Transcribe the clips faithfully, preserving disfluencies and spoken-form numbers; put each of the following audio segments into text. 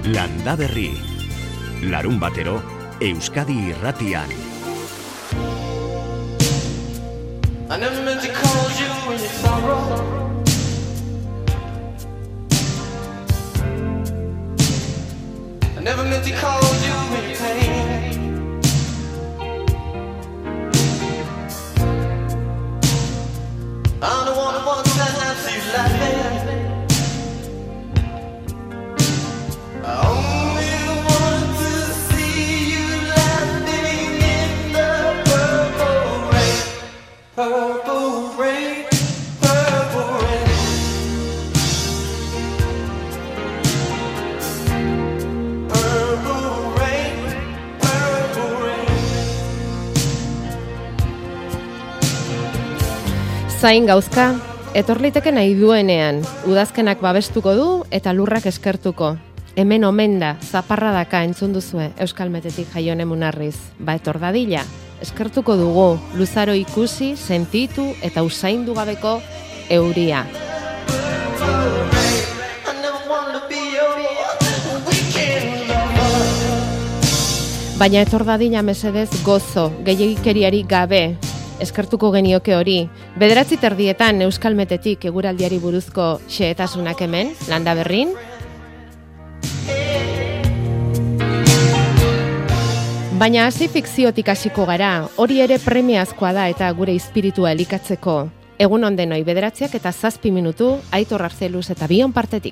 Landaberri, larun batero, Euskadi Irratian. I never meant to call you when you sorrow. I never meant to call you when you pain. I'm the one who wants to have you laughing. I only want to see you laughing in the purple rain. Purple rain, purple rain. Purple rain, purple rain. Zain gauzka, etorliteke nahi duenean, udazkenak babestuko du eta lurrak eskertuko. Hemen omen da, zaparradaka entzun duzue Euskal Metetik Jaione Munarriz. Ba etor dadila, eskertuko dugu, luzaro ikusi, sentitu eta usaindu gabeko euria. Baina etor dadila mesedez gozo, gehiagikeriari gabe, eskertuko genioke hori. Bederatzi terdietan Euskal Metetik eguraldiari buruzko xehetasunak hemen, Landaberrin. Baina hasi fikziotik hasiko gara, hori ere premiazkoa da eta gure espiritua elikatzeko. Egun on denoi, bederatziak eta zazpi minutu, Aitor Arzeluz eta bion partetik.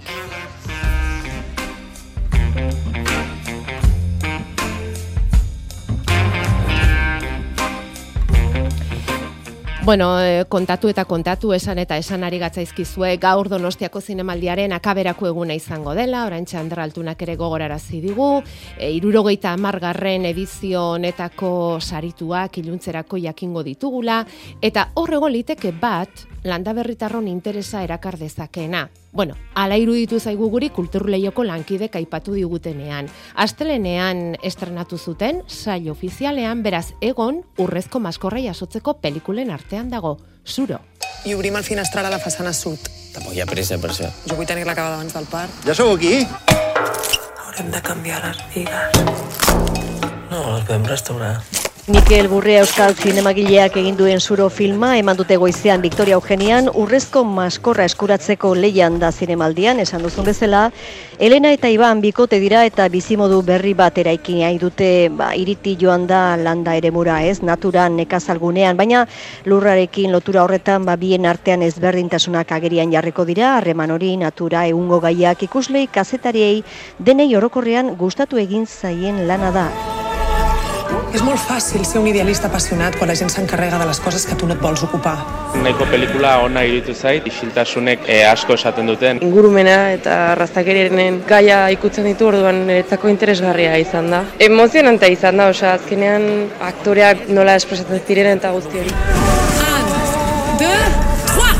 Bueno, eh, kontatu eta kontatu, esan eta esan ari gatzaizkizue, gaur Donostiako zinemaldiaren akaberako eguna izango dela, oraintxe Ander Altunak ere gogorarazi digu, e, hirurogeita hamargarren edizio honetako sarituak iluntzerako jakingo ditugula, eta horrego liteke bat Landaberritarron interesa erakar dezakeena. Bueno, ala iruditu zaigu guri kulturleioko lankidek aipatu digutenean. Astelenean estrenatu zuten, sail ofizialean, beraz egon urrezko maskorra jasotzeko pelikulen artean dago, Suro. I obrim el finestral a la façana sud. Tampoc hi ha pressa per això. Jo vull tenir l'acabada abans del part. Ja sou aquí? Haurem de canviar les bigues. No, les podem restaurar. Mikel Burrea euskal zinemagileak egin duen Suro filma eman dute goizean Victoria Eugenian urrezko maskorra eskuratzeko lehian da zinemaldian, esan duzun bezala. Elena eta Iban bikote dira eta bizimodu berri bat eraiki nahi dute, ba, iriti joan da landa eremura, ez, naturan, nekazalgunean, baina lurrarekin lotura horretan ba, bien artean ezberdintasunak agerian jarriko dira, harreman hori, natura, egungo gaiak ikuslei, kazetariei, denei orokorrean gustatu egin zaien lana da. És molt fàcil ser un idealista apassionat quan la gent s'encarrega de les coses que tu no et vols ocupar. Nahiko pelikula ona iruditu zait, isiltasunek e, asko esaten duten. Ingurumena eta arraztakeriaren gaia ikutzen ditu, orduan niretzako interesgarria izan da. Emozionantea izan da, osea, azkenean aktoreak nola espresatzen ziren eta guzti hori. Un, deux, trois!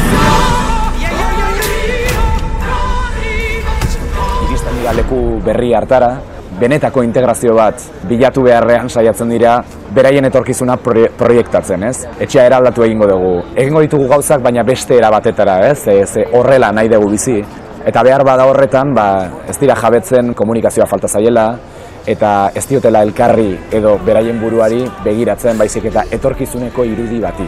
Iristen dira leku berri hartara, benetako integrazio bat bilatu beharrean saiatzen dira beraien etorkizuna proiektatzen, ez? Etxea eraldatu egingo dugu. Egingo ditugu gauzak, baina beste era batetara, ez? Ze horrela nahi dugu bizi. Eta behar bada horretan, ba, ez dira jabetzen komunikazioa falta zaiela, eta ez diotela elkarri edo beraien buruari begiratzen, baizik eta etorkizuneko irudi bati.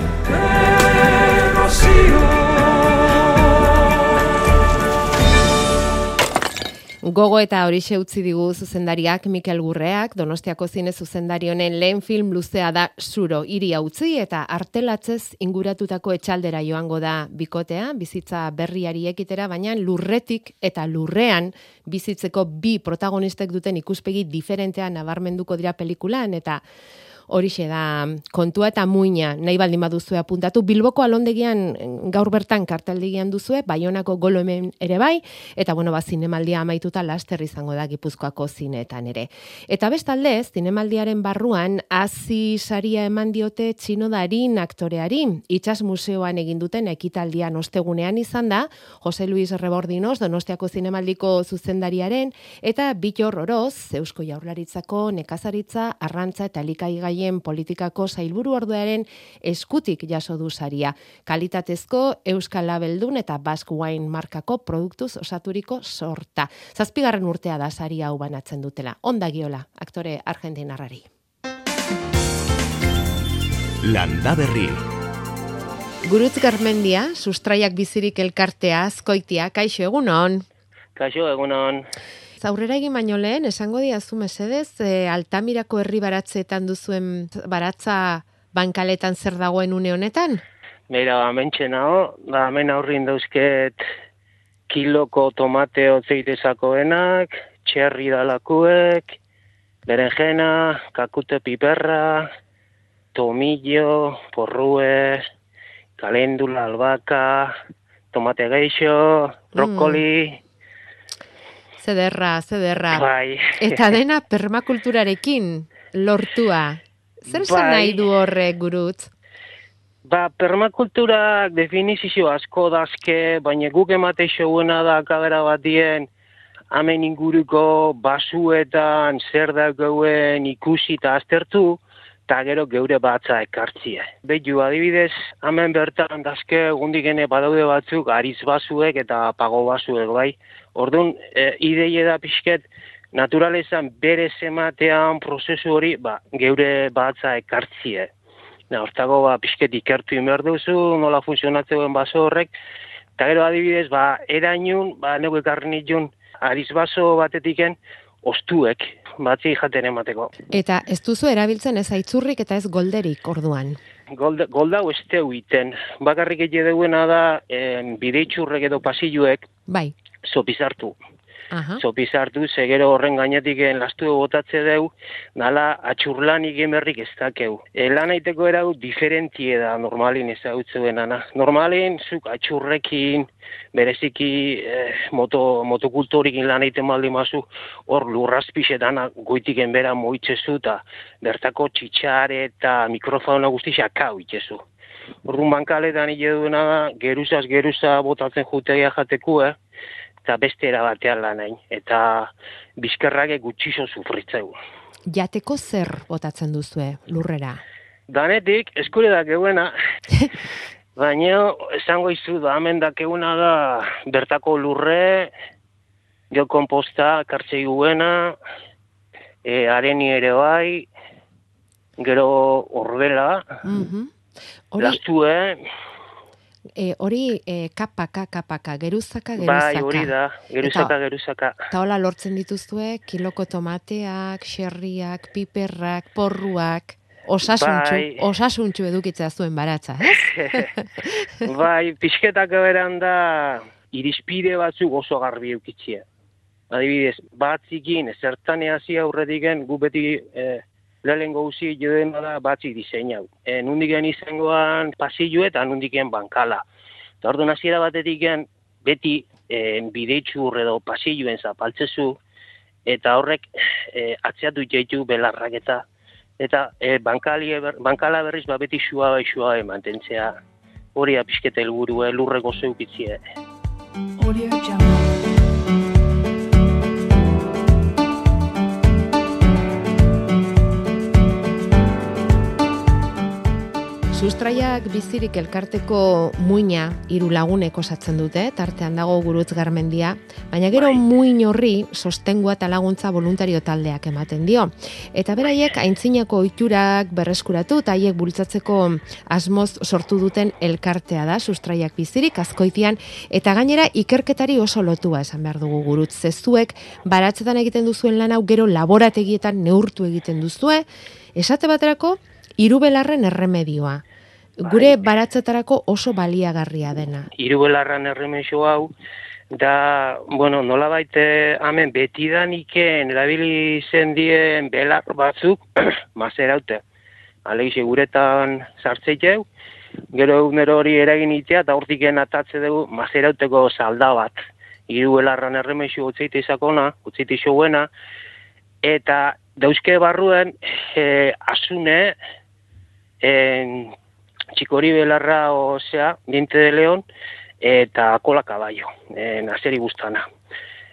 Gogo eta horixe utzi digu zuzendariak Mikel Burreak, Donostiako zine zuzendari honen lehen film luzea da Suro, hiria utzi eta artelatzez inguratutako etxaldera joango da bikotea, bizitza berriari ekitera, baina lurretik eta lurrean bizitzeko bi protagonistek duten ikuspegi diferentean nabarmenduko dira pelikulan, eta horixe da kontua eta muina, nahi baldin baduzue apuntatu. Bilboko alondegian gaur bertan karteldegian duzue, Baionako Golo hemen ere bai, eta bueno, ba, zinemaldia amaituta laster izango da Gipuzkoako zineetan ere. Eta bestaldez, zinemaldiaren barruan, hazi saria eman diote Txino Darin aktoreari, Itsas Museoan egin duten ekitaldian ostegunean izan da, Jose Luis Rebordinos, Donostiako zinemaldiko zuzendariaren, eta Bittor Oroz, Eusko Jaurlaritzako nekazaritza, arrantza eta elikagai Garraien Politikako Sailburu Ordearen eskutik jaso du saria. Kalitatezko Euskal Labeldun eta Basque Wine markako produktuz osaturiko sorta. Zazpigarren urtea da saria hau banatzen dutela. Onda Giola, aktore argentinarrari. Landa Berri. Gurutz Garmendia, sustraiak bizirik elkartea, Azkoitia, kaixo egunon. Kaixo egunon. Zaurrera egin baino lehen, esango diazu mesedez, e, Altamirako herri baratzeetan duzuen baratza bankaletan zer dagoen une honetan? Beira, hementxe nago, da hemen aurrin dauzket kiloko tomate otzeitezakoenak, txerri dalakuek, berenjena, kakute piperra, tomillo, porrue, kalendula, albaka, tomate geixo, brokoli. Mm. Zederra, zederra. Bai. Eta dena permakulturarekin lortua. Zer esan Bai. nahi du horrek, Gurutz? Ba, permakulturak definizio asko dazke, baina guk emate xouena da kabera batien, hemen inguruko basuetan zer dagoen ikusi eta aztertu, eta gero geure batza ekartzie. Behitu, adibidez, hemen bertan dazke gundigene badaude batzuk ariz basuek eta pago basuek, bai. Orduan, e, ideia da pixket, naturalezan berez ematean prozesu hori, ba, geure batza ekartzie. Na, hortago, ba, pixket ikertu inber duzu, nola funtzionatzen baso horrek, eta gero adibidez, ba, erainun, ba, nego ekarri nitun, ariz baso batetiken, ostuek, batzi jaten emateko. Eta ez duzu erabiltzen ez aitzurrik eta ez golderik orduan. Golda, golda ez teu iten. Bakarrik ege deuena da, eh, bideitxurrek edo pasilluek, Bai. sopizartu. Aha. Sopizartu, segero horren gainetiken lastu botatze deu, nala atxurlanik emerrik ez dakeu. E, lan aiteko erau diferentie da normalin ezagutzeuen. Normalin, zuk atxurrekin, bereziki eh, moto, motokultorikin lan aiten maldi mazu, hor lurrazpixetana goitiken bera moitzezu, eta bertako txitxare eta mikrofona guztixak kau itzezu. Orduan bankaletan hile duena da, geruzaz geruza botatzen jutegia jateku, eh? Eta beste erabatean lan hain, eta bizkerrake gutxiso sufritzeu. Jateko zer botatzen duzue lurrera? Danetik, eskure dakeuena, baina esango izu da, hemen dakeuna da bertako lurre, jo komposta, kartzei guena, e, areni ere bai, gero orbela, Mhm. Hori, lastue, e, hori e, kapaka, kapaka, geruzaka, geruzaka. bai, hori da, geruzaka, Eta- geruzaka. Eta hola lortzen dituzue, kiloko tomateak, xerriak, piperrak, porruak, osasuntxu, Bai. osasuntxu edukitzea zuen baratza, ez? Bai, pixketak beran da, irizpide batzuk oso garbi eukitxia. Adibidez, batzikin, zertane hasi aurretiken, gu beti eh, lehengo guzi joden da batzik diseinau. E, nundiken izangoan pasillo eta nundiken bankala. Eta orduan hasiera batetiken, beti e, bideitxur edo pasilloen zapaltzezu, eta horrek e, atzeatu jaitu belarrak eta eta e, bankali, bankala berriz ba beti xua bai xua bai mantentzea. Hori da pixketa helburu, eh, lurreko zeukitzie. Sustraiak bizirik elkarteko muina hiru lagunek osatzen dute, tartean dago Gurutz Garmendia, baina gero Bai. muin horri sostengua eta laguntza voluntario taldeak ematen dio. Eta beraiek aintzinako ohiturak berreskuratu eta haiek bultzatzeko asmoz sortu duten elkartea da Sustraiak bizirik Azkoitian, eta gainera ikerketari oso lotua esan behar dugu Gurutz. Zezuek baratzetan egiten duzuen lan hau gero laborategietan neurtu egiten duzue, esate baterako hirubelarren erremedioa. Gure baratzetarako oso baliagarria dena. Hirubelarran erremexo hau, da, bueno, nolabait eh, hemen betidaniken erabili zen dien belar batzuk, mazeraute. Alegize guretan sartzeiteu, gero egunero hori eragin itea, eta hortiken atatze dugu mazerauteko salda bat. Hirubelarran erremexo utzeite izakona, utzeite xouena, eta dauzke barruen eh, asune, en, txikori belarra, osea, diente de leon, eta kola kaballo, en, azeri guztana.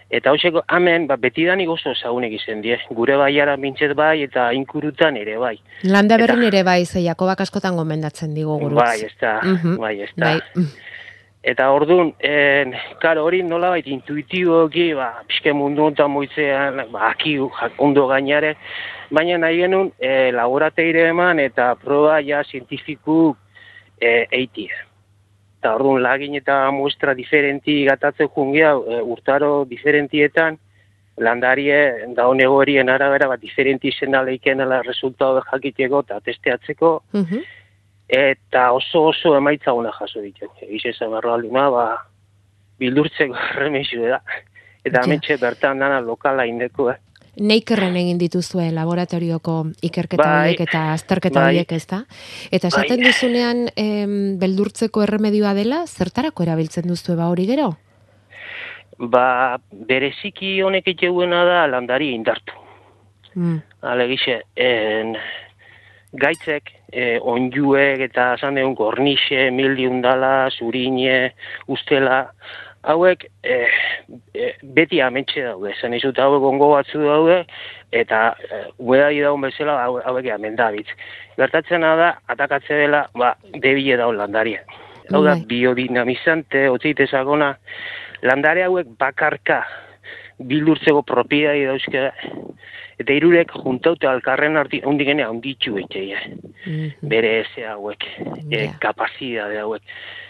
Eta hoxeko, hemen, ba, betidanik oso ezagunek izen die. Gure baiara mintzet bai, eta inkurutan ere bai. Landaberrin ere bai, ze Jakobak askotan gomendatzen digu gurutz. Bai, ez da, Mhm. bai, ez da. Bai. Eta orduan, en, karo, hori nolabait intuitiboki, ba, pixke mundu honetan moitzean, ba, aki ondo gainare, baina nahi genuen e, laborateire eman eta proba ja zientifiku e, eitie. Eta orduan lagin eta muestra diferenti gatatzen jungia, e, urtaro diferentietan, landarie da honego horien arabera, bat diferenti izena leikenela resultado jakiteko eta testeatzeko, Mhm. eta oso oso emaitza ona jaso ditu. Egize esan berroalduna, ba, bildurtzeko remexu da. Eta Ja. ametxe bertan dana lokala indeko, eh? Neikerren egin dituzue laboratorioko ikerketa Bai, horiek eta azterketa bai. horiek, ezta? Eta esaten Bai. duzunean em, beldurtzeko erremedioa dela, zertarako erabiltzen duzue ba hori gero? Ba, bereziki honek etxeuena da landari indartu. Mm. Alegixe, en, gaitzek, e, onjuek eta esan deun gornixe, mildiundala, zurine, ustela, hauek e, e, beti amentxe daude, esan izut hauek ongo batzu daude, eta e, uedari daun bezala hau- hauek amendabitz. Gertatzena da, atakatze dela, ba, debile daun landaria. Hau da, Bai. biodinamizante, otzeitezagona, landare hauek bakarka bildurtzeko propiedadi dauzke, eta irurek juntaute alkarren arti, hundigene handitxu eitzeia, Mhm. bere eze hauek, e, Ja. kapazidade hauek.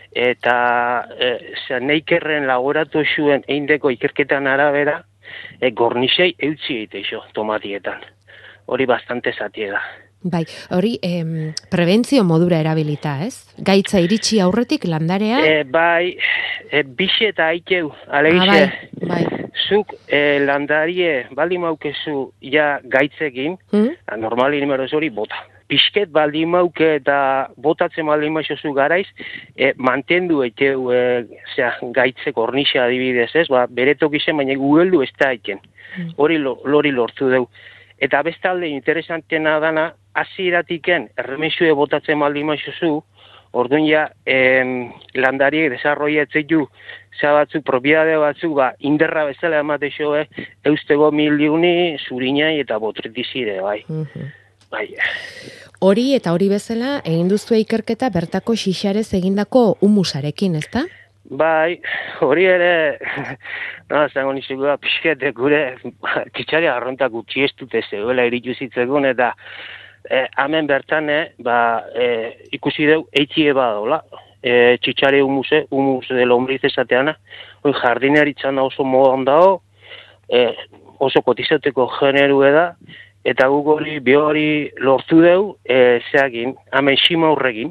Eta e, zera, neikerren laboratozuen eindeko ikerketan arabera, e, gornisei eutzi eiteixo tomatietan. Hori bastante zatie da. Bai, hori em, prebentzio modura erabilita, ez? Gaitza iritsi aurretik landarea. E, bai, e, bixe eta aikeu, alegixe, Ah, bai, bai. zuk e, landarie baldin maukezu ja gaitzekin, Mm? normali nimeroz hori bota. Pisket baldin mauke eta botatzen baldin maukezu garaiz, e, mantendu eiteu e, zera, gaitze kornixa adibidez, ez? Ba, bere tokizen, baina gugeldu ez da aiken. Mm. Hori lo, lori lortu deu. Eta bestalde interesantena dana, hasieratiken erremesue botatzen baldin maukezu, orduan ja, em, landariek desarroiatzeitu za batzuk, propiedade batzuk, ba, inderra bezala emateixo, eh, eustego miliuni, zurinai eta botritizire, bai. Mhm. Bai. Hori eta hori bezala egin duzue ikerketa bertako xixarez egindako humusarekin, ezta? Bai, hori ere, no, zango nizugu, pixkete gure, txitsari arrontak utzi ez dute zegoela iritu zitzekun, eta eh, hemen bertan, eh, ba, eh, ikusi deu, eitzie badola, eh, txitsari humuse, humus de lombriz esateana, hori jardineritzan da oso modan dago, eh, oso kotizateko generue da, eta guk hori, bi hori lortu deu, eh, zeakin, hemen xima horregin,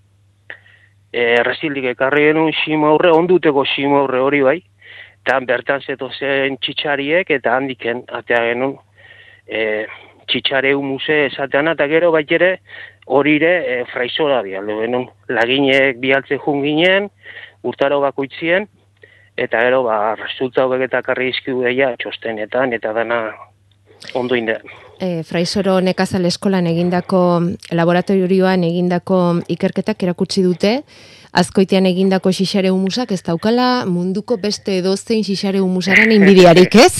e, resildik ekarri genuen xima horre, onduteko xima horre hori bai, eta bertan zeto zen txitsariek, eta handiken, atea genuen, e, txitsare humuse esatean, eta gero bai ere, hori ere e, fraizora bialdo genuen, laginek bialtze jun ginen, urtaro bakoitzien, eta gero, ba, resultatuak eta karri izkidu deia txostenetan, eta dana ondo inde. E, Fraisoro Nekazal Eskolan egindako laboratorioan egindako ikerketak erakutsi dute, Azkoitian egindako xixare humusak ez daukala munduko beste edozein xixare humusaren inbidiarik, ez?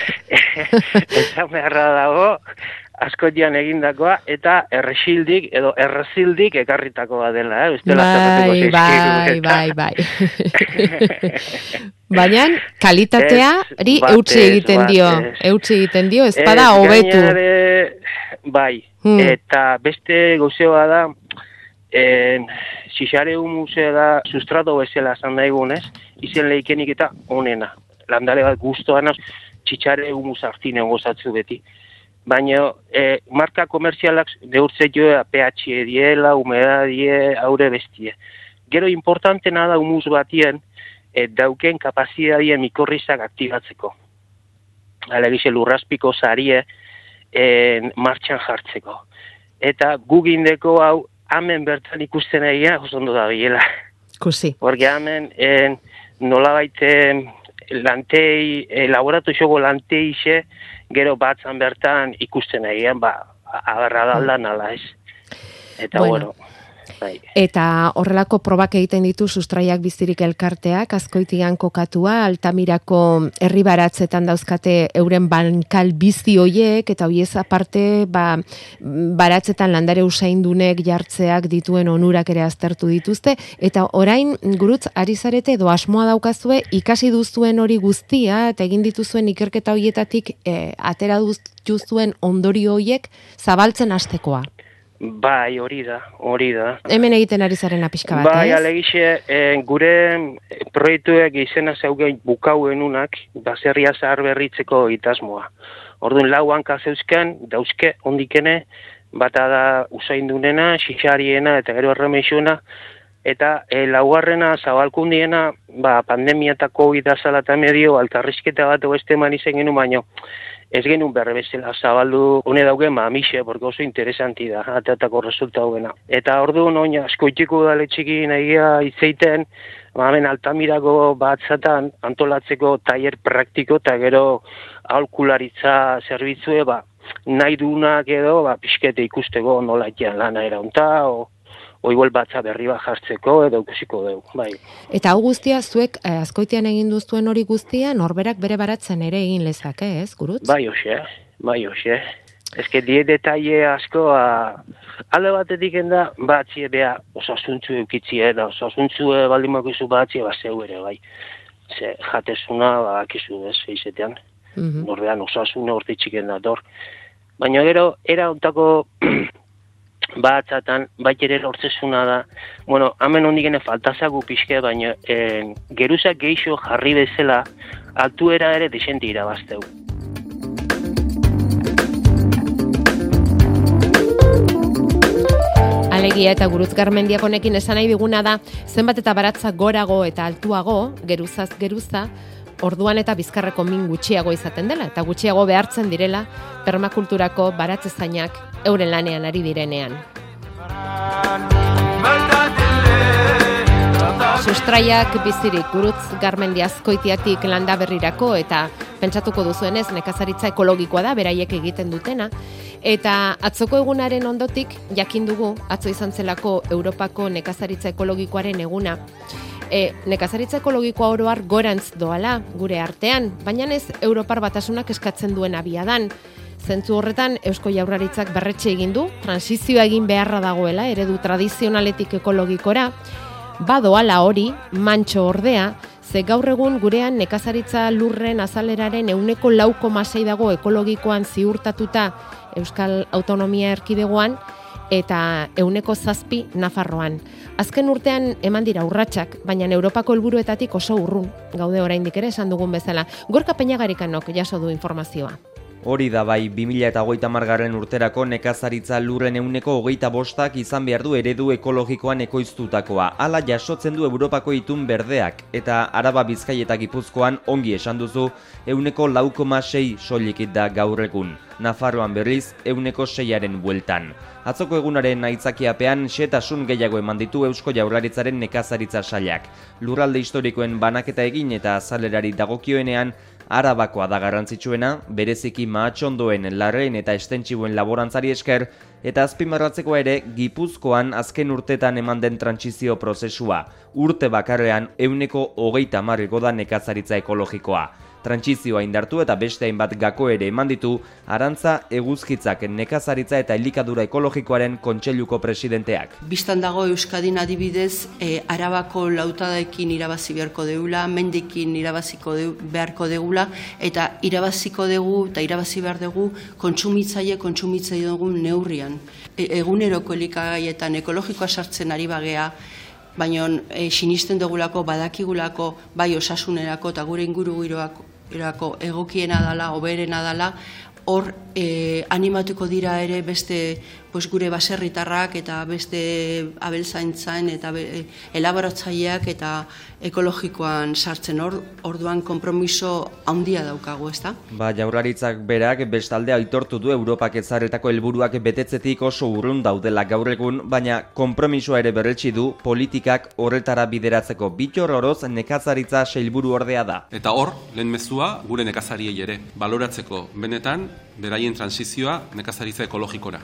Eta beharra dago, Azkoitian egindakoa, eta erresildik edo errezildik ekarritakoa dela, eh? Bestela Bai, zerratuko bai, bai, bai. Baina kalitateari Ez, eutsi batez, egiten dio, batez. eutsi egiten dio, ez bada Ez, hobetu. gainare, bai, Hmm. eta beste gauzea da, en, xixare humuse da sustrato bezala esan daigunez, izen leikenik eta onena. Landare bat guztoan txitsare humus hartinen gozatzu beti. Baina e, marka komerzialak neurtze joa pH diela, humedadie, aure bestie. Gero importantena da humus batien e, dauken kapazidadien mikorrizak aktibatzeko. Alegize lurraspiko sarie en, martxan jartzeko. Eta gugindeko hau hemen bertan ikusten egia oso ondo da biela. Kusi. Porque hemen en, nolabait lantei, e, laboratoioko lanteixe, gero batzan bertan ikusten egian, ba, agarra da aldan ala ez. Eta Bueno. bueno. Eta horrelako probak egiten ditu Sustraiak Bizirik elkarteak, Azkoitian kokatua, Altamirako herri baratzetan dauzkate euren bankal bizi hoiek, eta hoiez aparte ba, baratzetan landare usaindunek jartzeak dituen onurak ere aztertu dituzte, eta orain gurutz ari zarete edo asmoa daukazue ikasi duzuen hori guztia, eta egin dituzuen ikerketa hoietatik e, atera duzuen ondorio hoiek zabaltzen hastekoa. Bai, hori da, hori da. Hemen egiten ari zaren apiska bat, bai, ez? Bai, alegixe, eh, gure proiektuek izena zeugen bukauenunak, baserria zahar berritzeko itasmoa. Orduan lau hanka zeuzken, dauzke, ondikene, bata da usaindunena, xixariena eta gero erremeixuna, eta e, laugarrena zabalkundiena, ba, pandemia eta COVID azala eta medio, altarrizketa bat oeste eman izen genuen, baino, ez genuen berre bezala zabaldu, hone daugen, ba, amixe, porque oso interesanti da, ateatako resulta hogena. Eta orduan, oin, askoitiko dale txiki nahiea itzeiten, ba, hemen Altamirako batzatan antolatzeko tailer praktiko, eta gero aholkularitza zerbitzue, ba, nahi dunak edo, ba, pixkete ikusteko nola itian lana eraunta, o, o igual batza berri bat jartzeko edo ikusiko dugu, bai. Eta hau guztia, zuek eh, Azkoitian egin duzuen hori guztia, norberak bere baratzen ere egin lezake, ez, Gurutz? Bai, hoxe, bai, hoxe. Ez que die detaile asko, a, alde batetik enda, batzie beha osasuntzu eukitzie, da osasuntzu baldin bakizu batzie, ba, zeu ere, bai. Ze, jatezuna, ba, akizu, ez, eizetean. Mm-hmm. Norbean osasuna hortitxiken dator. Baina gero, era ontako batzatan, bait ere lortzezuna da, bueno, hemen hondigene faltazagu pixke, baina eh, geruzak geixo jarri bezala, altuera ere desente irabazteu. Alegia eta Gurutz Garmendiak honekin esan nahi diguna da, zenbat eta baratza gorago eta altuago, geruzaz geruza, orduan eta bizkarreko min gutxiago izaten dela, eta gutxiago behartzen direla permakulturako baratzezainak euren lanean ari direnean. Sustraiak Bizirik, Gurutz Garmendia Azkoitiatik Landaberrirako, eta pentsatuko duzuenez nekazaritza ekologikoa da beraiek egiten dutena, eta atzoko egunaren ondotik jakin dugu, atzo izan zelako Europako nekazaritza ekologikoaren eguna, E, nekazaritza ekologikoa oro har gorantz doala gure artean, baina ez Europar Batasunak eskatzen duen abiadan. Zentzu horretan Eusko Jaurlaritzak berretxe egin du, transizioa egin beharra dagoela eredu tradizionaletik ekologikora, badoala hori, mantxo ordea, ze gaur egun gurean nekazaritza lurren azaleraren ehuneko lau koma sei dago ekologikoan ziurtatuta Euskal Autonomia Erkidegoan, eta ehuneko zazpi Nafarroan. Azken urtean eman dira urratsak, baina Europako helburuetatik oso urrun, gaude oraindik ere esan dugun bezala. Gorka Peñagarikanok jaso du informazioa. Hori da bai, bi mila hogeita hamargarren urterako nekazaritza lurren ehuneko hogeita bostak izan behar du eredu ekologikoan ekoiztutakoa. Hala jasotzen du Europako itun berdeak, eta Araba, Bizkai eta Gipuzkoan ongi esan duzu ehuneko lau koma sei soilik da gaur egun. Nafarroan berriz ehuneko seiaren bueltan. Atzoko egunaren aitzakiapean xehetasun gehiago eman ditu Eusko Jaurlaritzaren nekazaritza sailak. Lurralde historikoen banaketa egin eta azalerari dagokioenean Arabakoa da garrantzitsuena, bereziki mahatxondoen, larreen eta estentsibuen laborantzari esker, eta azpimarratzeko ere Gipuzkoan azken urtetan eman den trantsizio prozesua. Urte bakarrean ehuneko hogeita hamar igo da nekazaritza ekologikoa. Trantsizioa indartu eta beste hainbat gako ere eman ditu Arantza Eguzkitzak nekazaritza eta elikadura ekologikoaren kontseiluko presidenteak. Bistan dago Euskadin adibidez, e, Arabako lautadaekin irabazi beharko deula, mendekin irabaziko de, beharko degula, eta irabaziko dugu eta irabazi behar dugu kontsumitzaile kontsumitzaile dugu neurrian. E, eguneroko elikagaietan ekologikoa sartzen ari bagea, baina e, sinisten dugulako, badakigulako, bai osasunerako eta gure inguru giroako egokiena dala, hoberena dala, hor e, animatuko dira ere beste pues, gure baserritarrak eta beste abeltzaintzan eta be, elaboratzaileak eta ekologikoan sartzen hor, orduan konpromiso handia daukagu, ezta? Ba, Jaurlaritzak berak bestalde aitortu du Europak ezarritako helburuak betetzetik oso urrun daudela gaur egun, baina konpromisoa ere berretsi du politikak horretara bideratzeko. Bittor Oroz nekazaritza sailburu ordea da. Eta hor, lehen mezua gure nekazariei ere, baloratzeko benetan beraien transizioa nekazaritza ekologikora.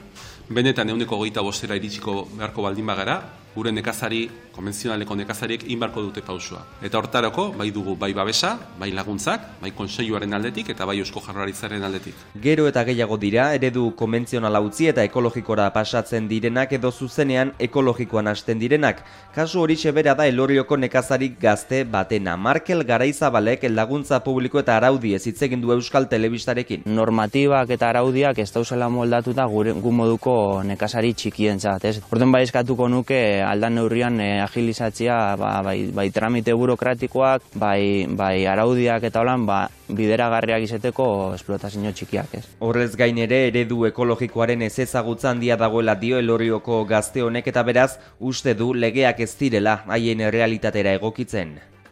benetan ehuneko hogeita bostera iritsiko beharko baldin bagara, gure nekazari, konbentzionaleko nekazariek inbarko dute pausua. Eta hortarako, bai dugu bai babesa, bai laguntzak, bai kontseiluaren aldetik eta bai Eusko Jaurlaritzaren aldetik. Gero eta gehiago dira, eredu konbentzionala utzi eta ekologikora pasatzen direnak edo zuzenean ekologikoan hasten direnak. Kasu horixe bera da Elorrioko nekazarik gazte batena. Markel Garaizabalek laguntza publiko eta araudiez hitz egin du Euskal Telebistarekin. Normatibak eta araudiak ez dauzela moldatuta gure gu moduko nekazari txikientzat, ez? Orduan bai eskatuko nuke aldan neurrian eh, agilizatzea ba, bai, bai tramite burokratikoak, bai, bai araudiak eta holan ba, bideragarriak izateko esplotazio txikiak, ez? Horrez gain ere eredu ekologikoaren ez ezagutza handia dagoela dio Elorrioko gazte honek eta beraz uste du legeak ez direla haien errealitatera egokitzen.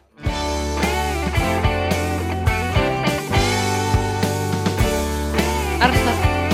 Arza.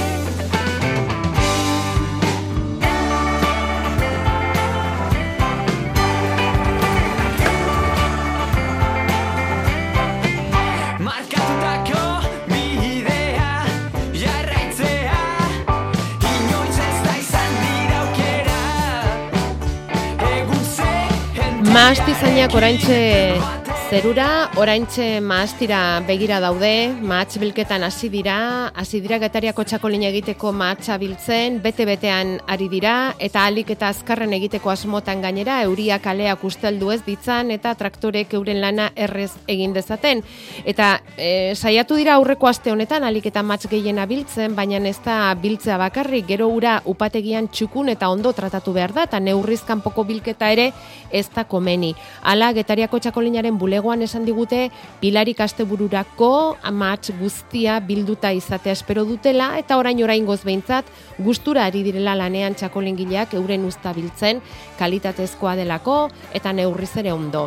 Mahastizainak oraintxe zerura, oraintxe mahastira begira daude, mahatz bilketan hasi dira, hasi dira Getariako txakolina egiteko mahatsa biltzen, bete-betean ari dira, eta ahalik eta azkarren egiteko asmotan gainera, euriak aleak usteldu ez ditzan, eta traktorek euren lana errez egin dezaten. Eta e, saiatu dira aurreko aste honetan, ahalik eta mahatz gehiena biltzen, baina ez da biltzea bakarrik, gero ura upategian txukun eta ondo tratatu behar da, eta neurriz kanpoko bilketa ere ez da komeni. Hala, Getariako txakolinaren bulegoan esan digute, pilarik astebururako mahatz guztia bilduta izatea espero dutela, eta orain oraingoz behintzat, gustura ari direla lanean txakolingileak euren uzta biltzen, kalitatezkoa delako, eta neurriz ere ondo.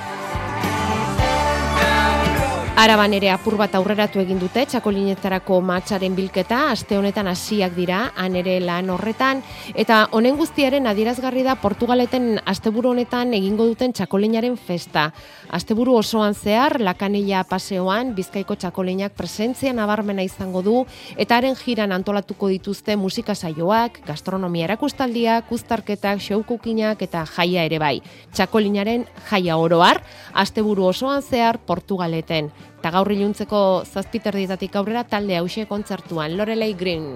Araban ere apur bat aurreratu egin dute txakolinetarako mahatsaren bilketa, aste honetan hasiak dira, han ere lan horretan, eta honen guztiaren adierazgarri da Portugaleten asteburu honetan egingo duten txakolinaren festa. Asteburu osoan zehar, Lakanilla paseoan, Bizkaiko txakolinak presentzia nabarmena izango du, eta haren jiran antolatuko dituzte musika saioak, gastronomia erakustaldiak, uztarketak, showcookinak eta jaia ere bai. Txakolinaren jaia oroar, asteburu osoan zehar Portugaleten. Eta gaur iluntzeko zazpiterdietatik aurrera talde hause kontzertuan, Lorelei Green.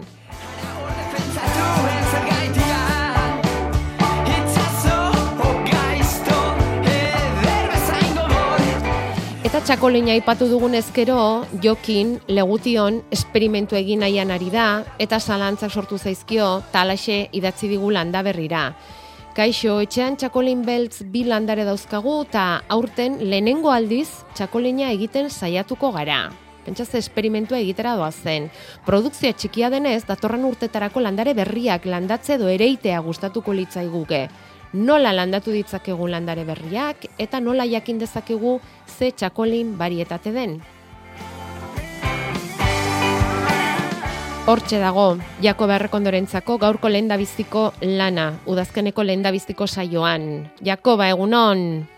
Eta txakolina aipatu dugun ezkero, Jokin Legution esperimentu egin nahian ari da, eta zalantzak sortu zaizkio, talaxe idatzi digu Landaberrira. Kaixo, etxean txakolin beltz bi landare dauzkagu eta aurten lehenengo aldiz txakolina egiten saiatuko gara. Pentsaz esperimentua egitera doazen. Produkzioa txikia denez, datorren urtetarako landare berriak landatze edo ereitea gustatuko litzaiguke. Nola landatu ditzakegu landare berriak eta nola jakin dezakegu ze txakolin barietate den. Hortxe dago, Jakob Errekondorentzako gaurko lehendabiziko lana, udazkeneko lehendabiziko saioan. Jakoba, egunon?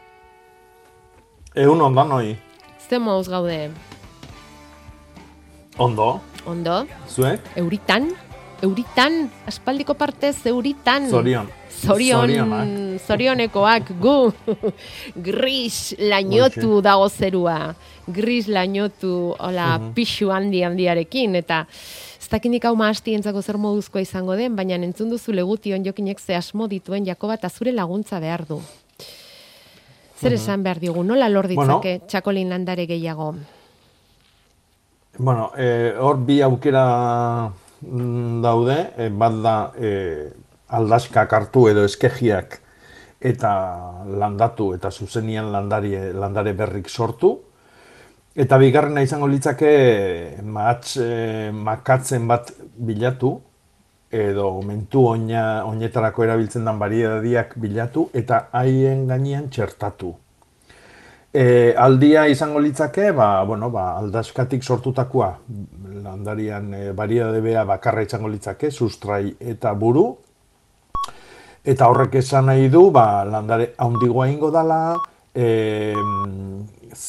Egunon danoi. Ze mouz gaude? Ondo. Ondo? Zuek? Euritan? Euritan? Aspaldiko partez, euritan? Zorion. Zorion, zorionekoak gu. Gris lainotu dago zerua. Gris lainotu, hola, uh-huh. Pixu handi handiarekin, eta ez dakindik hau mahastientzako zer moduzkoa izango den, baina entzun duzu Legution Jokinek ze asmo dituen Jakoba eta zure laguntza behar du. Zer esan behar diogu, nola lor ditzake bueno, txakolin landare gehiago? Bueno, eh, hor bi aukera daude, eh, bat da eh, aldaskak hartu edo eskegiak eta landatu eta zuzenian landare, landare berrik sortu. Eta bigarrena izango litzake mahats eh, makatzen bat bilatu edo mentu oina, oinetarako erabiltzen den bariedadiak bilatu eta haien gainean txertatu. E, aldia izango litzake, ba, bueno, ba, aldaskatik sortutakoa landarian e, bariedade bea bakarra izango litzake, sustrai eta buru. Eta horrek esan nahi du, ba, landare handigoa ingo dala, e,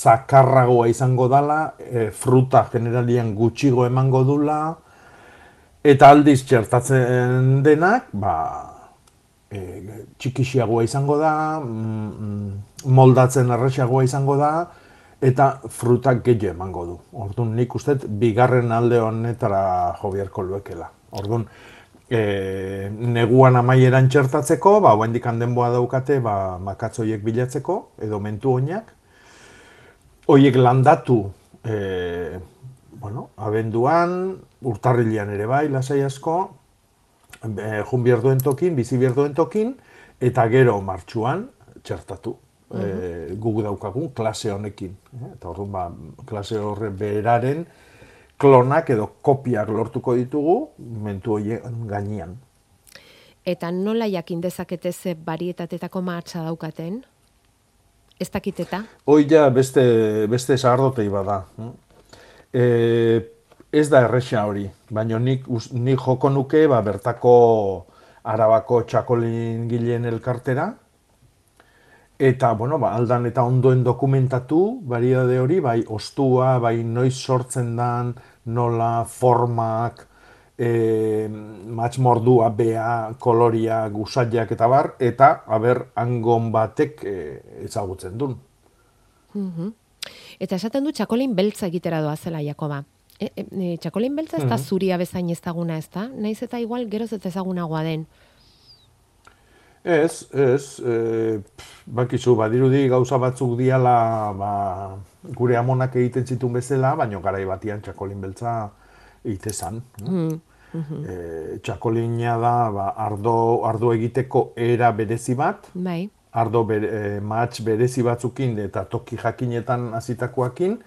zakarragoa izango dala, e, fruta generalian gutxigo emango dula, Eta aldiz txertatzen denak, ba, e, txikixiagoa izango da, mm, moldatzen errexiagoa izango da, eta frutak gehiago emango du. Orduan, nik uste bigarren alde honetara jo beharko luekela. Orduan, e, neguan amaieran txertatzeko, ba, oendik denboa daukate, ba, makatzoiek bilatzeko, edo mentu oinak. Hoiek landatu, e, bueno, abenduan, urtarrilean ere bai, lasai asko, e, jun bierduen tokin, bizi bierduen tokin, eta gero martxuan txertatu. Uh -huh. e, guk daukagun klase honekin. E, eta orduan, ba, klase horre beraren klonak edo kopiak lortuko ditugu mentu horien gainean. Eta nola jakin dezakete ze barietatetako mahatsa daukaten? Ez dakiteta? Hoi ja beste, beste sagardotei bada. E, ez da erresa hori, baina nik, nik joko nuke ba, bertako Arabako txakolin gileen elkartera, eta, bueno, ba, aldan eta ondoen dokumentatu, bariedade hori, bai ostua, bai noiz sortzen dan, nola, formak, e, matxmordua, bea, koloria, gusaiak eta bar, eta, haber, hangon batek e, ezagutzen duen. Uh-huh. Eta esaten du txakolin beltza egitera doa zela, Jakoba. E, e, txakolin beltza ez da uh-huh. zuria bezain ezaguna ez da? Naiz eta igual geroz ez ezagunagoa den. Ez, ez, e, bakizu, badirudi gauza batzuk diala ba, gure amonak egiten zituen bezala, baina garai batian txakolin beltza egitezan. No? Mm, mm-hmm. e, txakolina da ba, ardo, ardo egiteko era berezi bat, bai. ardo bere, e, matx berezi batzukin eta toki jakinetan hasitakoakin,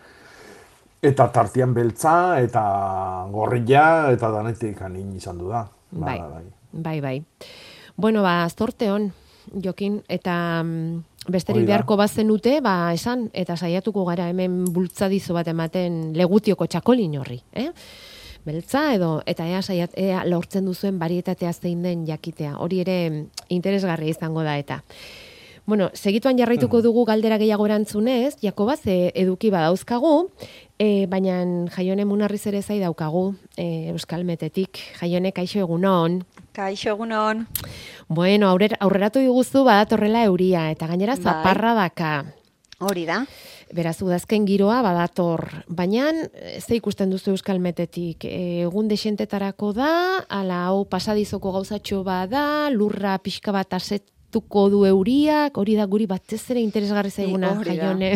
eta tartian beltza, eta gorrilla, eta danetik anin izan du da. Bai, ba, bai, bai. bai. Bueno, ba, aztorte hon, Jokin, eta mm, besterik beharko bazenute, ba, esan, eta saiatuko gara hemen bultzadizo bat ematen legutioko txakolin horri, eh? Beltza edo, eta ea, saiat, ea lortzen duzuen barietatea zein den jakitea. Hori ere interesgarria izango da eta. Bueno, segituan jarraituko dugu galdera gehiago erantzunez, Jakoba, ze eduki badauzkagu, e, baina Jaione Munarriz ere zai daukagu, e, Euskal Metetik. Jaione, kaixo egunon. Kaixo egunon. Bueno, aurrer, aurreratu diguzu badatorrela euria, eta gainera bai. zaparra daka. Hori da. Beraz, udazken giroa badator, baina ze ikusten duzu Euskal Metetik? Egun desentetarako da, ala hau pasadizoko gauzatxo bada, lurra pixka bat asetuko du euriak, hori da guri batez ere interesgarri zaiguna, Jaione.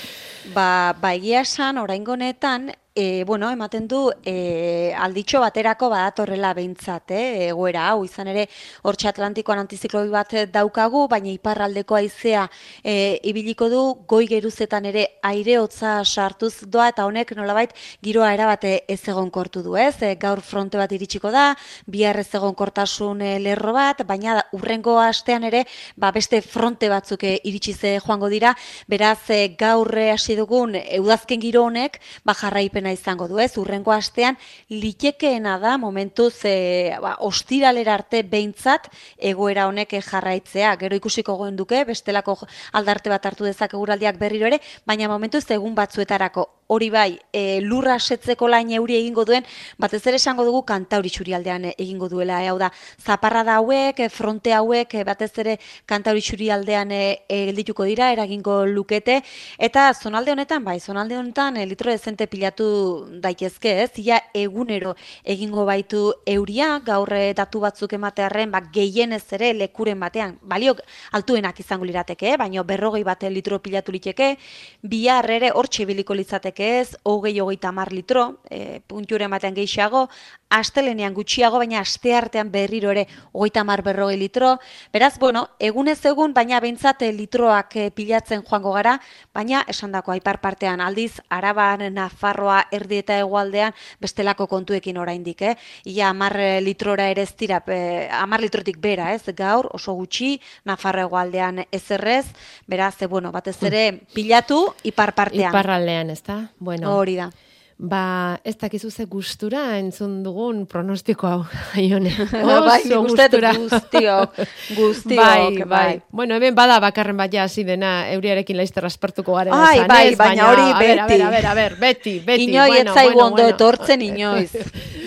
Ba, ba egia esan, oraingo honetan, E, bueno, ematen du e, alditxo baterako badatorrela behintzat, eh? Egoera hau, izan ere hortxe Atlantikoan antizikloi bat daukagu, baina iparraldeko haizea e, ibiliko du, goi geruzetan ere aire hotza sartuz doa, eta honek nolabait giroa erabate ez egonkortu du, ez? E, gaur fronte bat iritsiko da, bihar ez egonkortasun e, lerro bat, baina urrengo astean ere ba, beste fronte batzuk e, iritsize joango dira, beraz e, gaur hasi dugun e, udazken giro honek ba, jarraipen izango du, ez? Urrengo astean litekeena da momentuz e, ba, ostiralera arte behintzat egoera honek jarraitzea. Gero ikusiko goen duke, bestelako aldarte bat hartu dezake eguraldiak berriro ere, baina momentuz egun batzuetarako. Hori bai, e, lurra setzeko lain euri egingo duen, batez ere esango dugu Kantauri Txurialdean egingo duela. E, hau da, zaparrada hauek, fronte hauek, batez ere Kantauri Txurialdean geldituko dira, eragingo lukete, eta zonalde honetan, bai, zonalde honetan e, litro dezente pilatu daitezke, ez? Ia egunero egingo baitu euria, gaur datu batzuk ematearren, ba, gehienez ere lekuren batean, baliok altuenak izango lirateke, baina berrogei bate litro pilatu liteke, bihar ere hortxe biliko litzateke ez, hogei hogeita hamar litro, e, punture ematean gehiago, astelenean gutxiago, baina asteartean berriro ere hogeita hamar berrogei litro. Beraz, bueno, egunez egun, baina behintzat litroak pilatzen joango gara, baina esandako aipar partean aldiz, Araban, Nafarroa, erdi eta hegoaldean bestelako kontuekin oraindik, eh? Ia hamar litrora ere ez dira, hamar litrotik bera, ez? Gaur oso gutxi, Nafarro hegoaldean ezerrez, beraz, bueno, batez ere pilatu ipar partean. Iparraldean, ez da? Bueno. Hori da. Ba, ez dakizu ze gustura entzun dugun pronostiko hau, Jaione. Bai, gustura. Guztiok, guztiok. Bai, bai. Bueno, hemen bada bakarren bat ja hasi dena euriarekin laizter aspertuko garen. Ai, bai, baina hori beti. A ber, a ber, a ber, beti, beti. Inoi bueno, etzaigu bueno, ondo bueno. etortzen inoiz.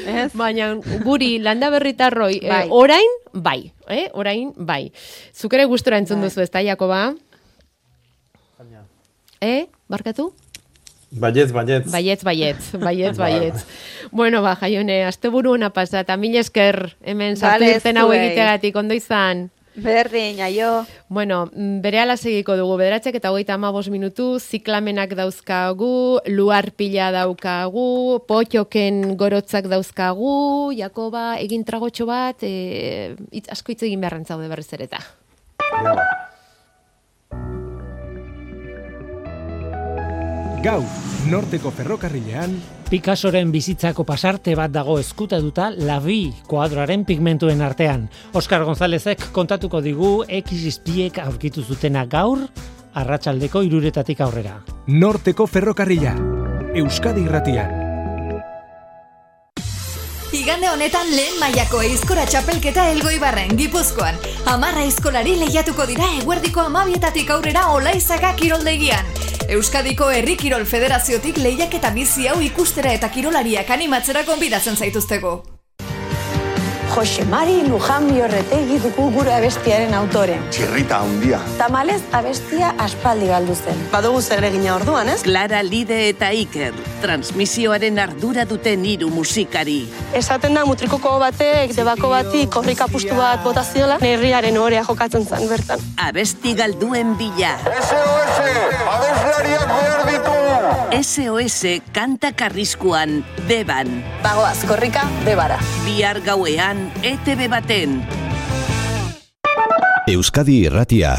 Baina guri landaberritarroi Bai. eh, orain, bai. Eh? Orain, bai. Zuk ere gustora entzun duzu, ez da, Jakoba? Eh? Barkatu? Baietz, baietz. Baietz, baietz, baietz, baietz. Bueno, ba, Jaione, asteburu ona pasa, eta mil esker hemen sartu Bale, irten hau zuei. egiteagatik, ondo izan. Berdin, aio. Bueno, berehala segiko dugu, bederatzek eta hogeita hamabost minutu, ziklamenak dauzkagu, luar pila daukagu, potxoken gorotzak dauzkagu, Jakoba, egin tragotxo bat, e, itz, asko hitz egin beharren zaude berriz ere eta. Gaur, Norteko ferrokarrilean, Picassoren bizitzako pasarte bat dago ezkutatuta Labi kuadroaren pigmentuen artean. Oskar Gonzálezek kontatuko digu X izpiek aurkitu zutena gaur, arratsaldeko hiruretatik aurrera. Norteko ferrokarrila, Euskadi Irratian. Igande honetan lehen mailako aizkora txapelketa Elgoibarren, Gipuzkoan. Hamarra aizkolari lehiatuko dira eguerdiko hamabietatik aurrera Olaizaga kiroldegian. Euskadiko Herri Kirol Federaziotik lehiaketa bizi hau ikustera eta kirolariak animatzera gonbidatzen zaituztego. Jose Mari Luján Biorretegi dugu gure abestiaren autore. Txirrita handia. Tamalez abestia aspaldi galdu zen. Badugu zer egina orduan, ez? Clara Lide eta Iker, transmisioaren ardura duten hiru musikari. Esaten da mutrikoko batek, debako bati, korrika pustu bat botaziola, herriaren orea jokatzen zen bertan. Abesti galduen bila. S O S, abeslariak behar ditu! S O S kanta karriskuan, Deban. Bagoaz, korrika, Debara. Bihar gauean, E T B baten. Euskadi Irratia.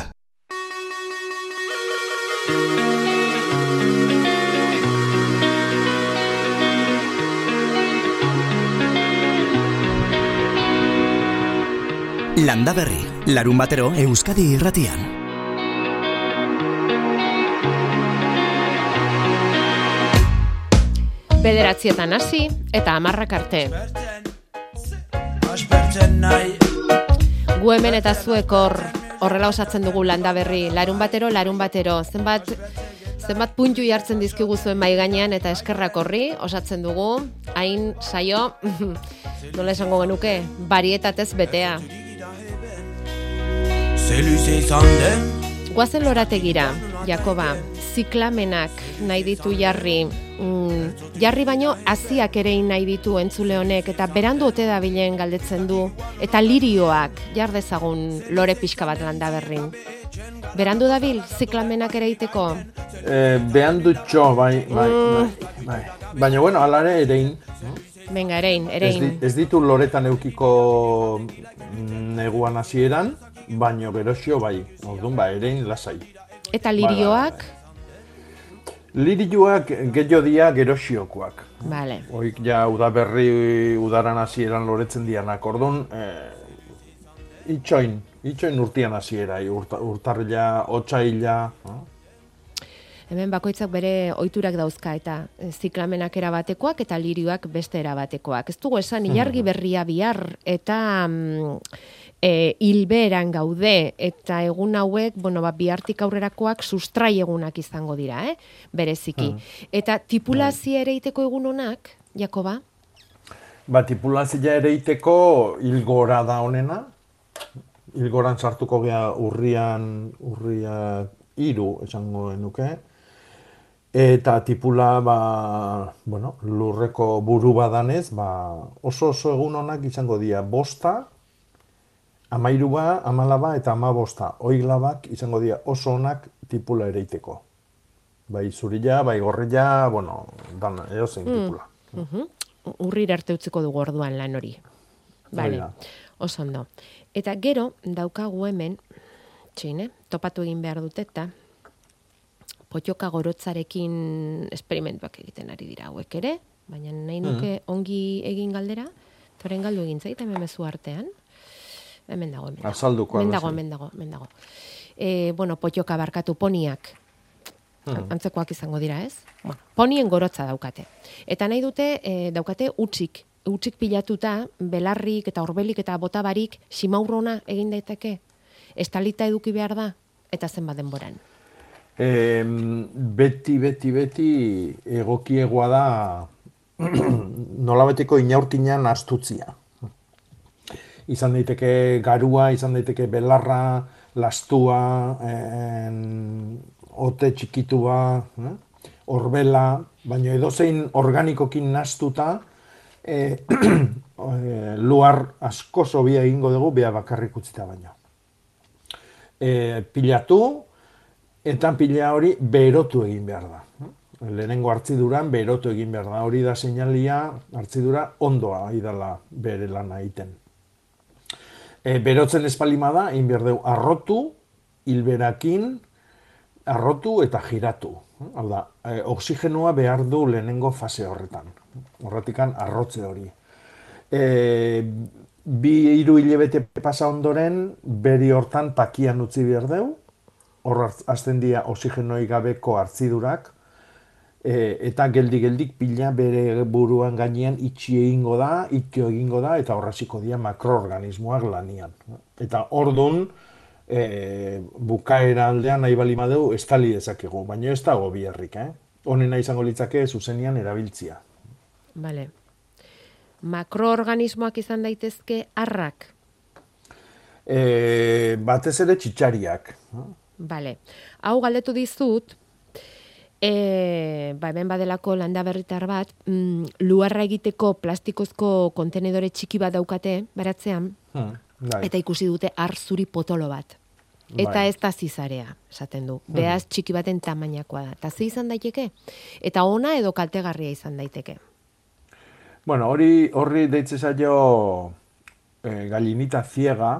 Landaberri, larun batero Euskadi Irratian. Bederatzietan hasi eta hamarrak arte. Gu hemen eta zuek hor horrela osatzen dugu Landaberri, larun batero, larun batero. Zenbat, zenbat puntu jartzen dizkigu zuen mai gainean eta eskerrak horri osatzen dugu. Hain saio, nola esango genuke, barietatez betea. Guazen lorategira, Jakoba, ziklamenak nahi ditu jarri, mm, jarri baino haziak ere nahi ditu entzule honek, eta berandu ote dabilen galdetzen du, eta lirioak jar dezagun lore pixka bat Landaberrin. Berandu dabil, ziklamenak ere iteko? Eh, behandu txo, bai, bai, bai, bai. Baina, bueno, alare erein. Venga, erein, erein. Ez, di, ez ditu loretan eukiko neguan hasieran, baino gerosio bai, orduan ba, erein lasai. Eta lirioak? Lirioak gehiago dia gerosiokoak. Vale. Oik ja udaberri udaran hasieran loretzen dianak, orduan eh, itxoin, itxoin urtian hasiera, urta, urtarrila, otsaila. Eh? Hemen bakoitzak bere ohiturak dauzka eta ziklamenak erabatekoak eta lirioak beste erabatekoak. Ez dugu esan ilargi berria bihar eta mm, e, hilberan gaude eta egun hauek, bueno, ba, bihartik aurrerakoak sustrai egunak izango dira, eh? Bereziki. Hmm. Eta tipulazia ere iteko egun honak, Jakoba? Ba, tipulazia ere iteko hilgora da honena. Hilgoran sartuko gea urrian, urria hiru esango genuke. Eta tipula, ba, bueno, lurreko buru badanez, ba, oso oso egun honak izango dira bosta, amairua, amalaba eta amabosta. Oiglabak izango dira oso onak tipula ereiteko. Bai zurila, bai gorrila, bueno, dan, eozein tipula. Mm. Uh-huh. Urrir arte utziko dugu orduan lan hori. Vale, oso ondo. Eta gero, daukagu hemen, txine, topatu egin behar dut eta, potxoka gorotzarekin esperimentuak egiten ari dira hauek ere, baina nahi nuke ongi egin galdera, toren galdu egin zait, hemen mezu artean. Hemen dago, hemen dago. Azalduko. Hemen dago, hemen dago, hemen dago. E, bueno, potxoka barkatu poniak, hmm. antzekoak izango dira, ez? Bueno, ponien gorotza daukate. Eta nahi dute, e, daukate utzik, utzik pilatuta, belarrik eta orbelik eta botabarik simaurrona egin daiteke. Estalita eduki behar da, eta zenbat denboran. E, beti, beti, beti egokiegoa da nolabaiteko inaurkinan astutzia. Izan daiteke garua, izan daiteke belarra, lastua, en, ote txikitua, eh? Orbela, baina edozein organikokin nastuta, e, e, luar asko zobia egingo dugu, beha bakarrik utzita baino. E, pilatu, eta pila hori berotu egin behar da. Lehenengo hartziduran berotu egin behar da. Hori da seinalia, hartzidura ondoa idala bere lana egiten. E, berotzen espalima da, egin behar dugu arrotu, hilberakin, arrotu eta giratu. Hau da, e, oxigenua behar du lehenengo fase horretan. Horretikan arrotze hori. E, bi hiru hilabete pasa ondoren, beri hortan pakian utzi behar dugu. Hor hasten dira oxigenoi gabeko hartzidurak, e, eta geldi-geldik pila bere buruan gainean itxi egingo da, itxio egingo da, eta horraziko dira makroorganismoak lanian. Eta ordun, e, bukaera aldean nahi bali madeu, estali dezakegu, baina ez dago biharrik, eh? Honena izango litzake zuzenian erabiltzia. Vale. Makroorganismoak izan daitezke arrak? E, batez ere txitxariak. Vale. Hau galdetu dizut, e, ba, hemen badelako landa berritar bat, mm, luarra egiteko plastikozko kontenedore txiki bat daukate, baratzean, Hmm, bai. eta ikusi dute arzuri potolo bat. Eta Bai. ez da zizarea, esaten du. Beaz txiki baten tamainakoa da. Eta ze izan daiteke? Eta ona edo kaltegarria izan daiteke? Bueno, hori horri deitze zaio e, gallinita ziega,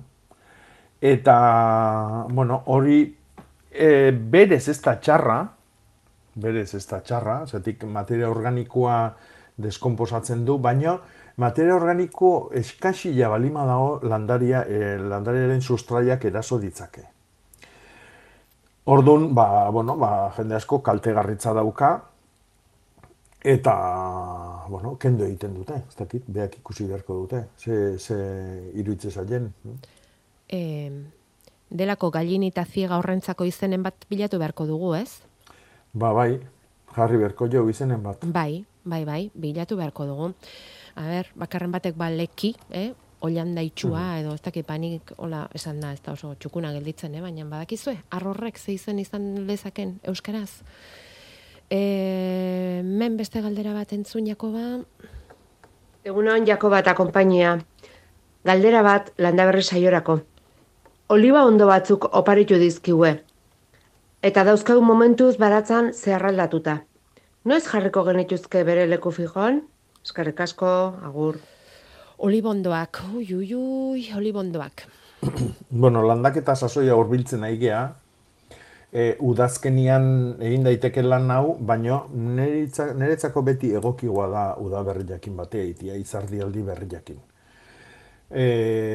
eta, bueno, hori e, berez ez da txarra, berez ez da txarra, zetik materia organikoa deskomposatzen du, baina materia organiko eskasila balima dago landaria, e, landariaren sustraiak eraso ditzake. Orduan, ba, bueno, ba, jende asko kaltegarritza dauka, eta, bueno, kendo egiten dute, ez dakit, beak ikusi beharko dute, ze, ze iruitze zaien. E, delako gallinita ziega horrentzako izenen bat bilatu beharko dugu, ez? Ba, bai, jarri beharko jo izenen bat. Bai, bai, bai, bilatu beharko dugu. A ber, bakarren batek ba leki, eh? Oian daitxua, edo ez dakit panik, hola, esan da, ez da oso txukuna gelditzen, eh? Baina badakizue, arrorrek ze izen izan lezaken euskaraz. E, men beste galdera bat entzun, Jakoba? Egunon, Jakoba eta konpainia. Galdera bat landaberri saiorako. Oliba ondo batzuk oparitu dizkiue. Eta dauzkau momentuz baratzan zeharraldatuta. Noiz jarriko genituzke bere leku fijoan? Eskerrik asko, agur. Olibondoak, ui, ui, ui, olibondoak. Bueno, landaketa sasoia hurbiltzen nahi gea, e, udazkenian egin daiteke lan hau, baina niretzako beti egokigoa da udaberri jakin batea egitea, izardialdi berri jakin. E,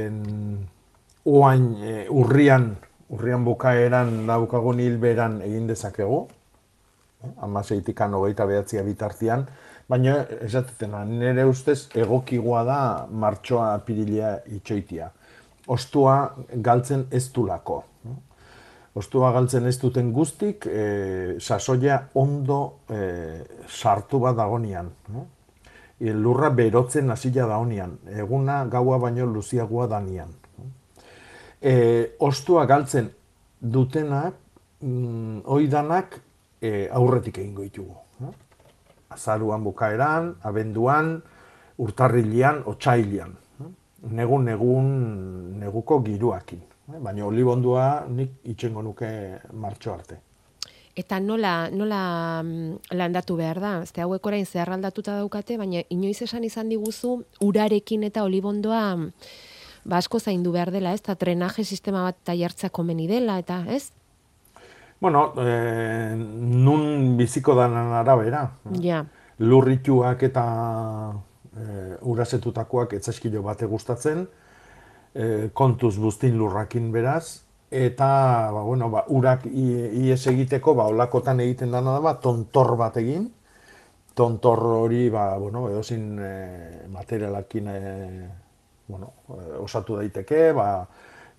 Oain e, urrian, urrian bukaeran daukagun hilberan egin dezakegu, hamaseitikan hogeita behatzia bitartian, baina esatetena, nire ustez egokigoa da martxoa apirilea itxoitia. Ostua galtzen ez dulako. Ostua galtzen ez duten guztik, e, sasoia ondo e, sartu bat dagonian. E, lurra berotzen hasila dagonean, eguna gaua baino luziagoa danian. E, ostua galtzen dutenak, mm, oidanak e, aurretik egingo ditugu. Azaruan bukaeran, abenduan, urtarrilean, otsailian. Negun, negun, neguko giruakin. Baina olibondua nik itxengo nuke martxo arte. Eta nola, nola landatu behar da? Ezte hauek orain zeharraldatuta daukate, baina inoiz esan izan diguzu urarekin eta olibondoa ba asko zaindu behar dela, ez? Eta trenaje sistema bat taiartzea komeni dela, eta ez? Bueno, eh, nun biziko danan arabera. Ja. Lurrituak eta eh, urasetutakoak etzaskilo bate gustatzen, eh, kontuz buztin lurrakin beraz, eta ba, bueno, ba, urak ies egiteko, ba, olakotan egiten dana da, ba, tontor bat egin, tontor hori, ba, bueno, edozin eh, materialakin eh, bueno, osatu daiteke, ba,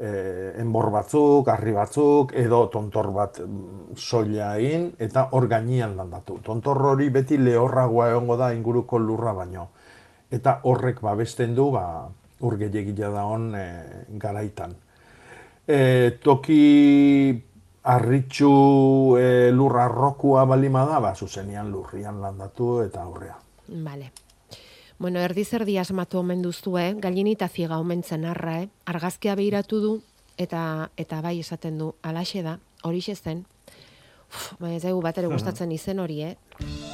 eh, enbor batzuk, harri batzuk, edo tontor bat soila egin, eta hor gainean landatu. Tontor hori beti lehorragoa egongo da inguruko lurra baino. Eta horrek babesten du, ba, ur gehiagia da hon e, garaitan. E, toki harritxu e, lurra arrokua balima da, ba, zuzenian lurrian landatu eta aurrea. Vale. Bueno, erdi zerdi asmatu omen duzue, galinita ziega omentzen arra, eh? Argazkia behiratu du, eta eta bai esaten du, alaxe da, horixe zen. Uf, bai ez dugu bat ere gustatzen izen hori, eh?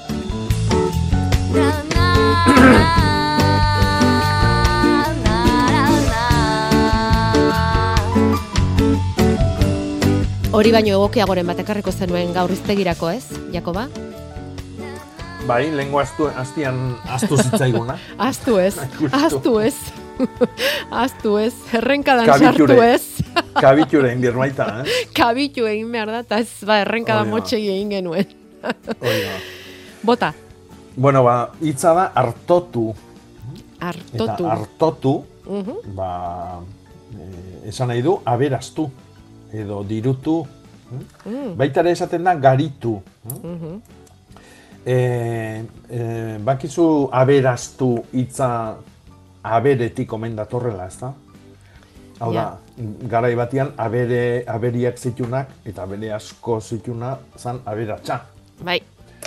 Hori baino egokiagoren bat ekarriko zenuen gaur iztegirako, ez, Jakoba? Bai, lengua aztian aztu zitzaiguna. Aztu ez, aztu ez. Aztu ez, errenkadan sartu ez. Kabiture egin behar baita, eh? Kabitu egin behar da, eta ez, ba, errenkada motxegi egin genuen. Bota. Bueno, ba, hitza da hartotu. Hartotu. Eta hartotu, uh -huh. ba, eh, esan nahi du, aberaztu, edo dirutu. Mm. Baita ere esaten da garitu. Uh -huh. E, e, bakizu aberaztu hitza aberetik omen datorrela, ez da? Hau da, garai batean abere, aberiak zitunak eta abere asko zituna zan aberatsa. Bai.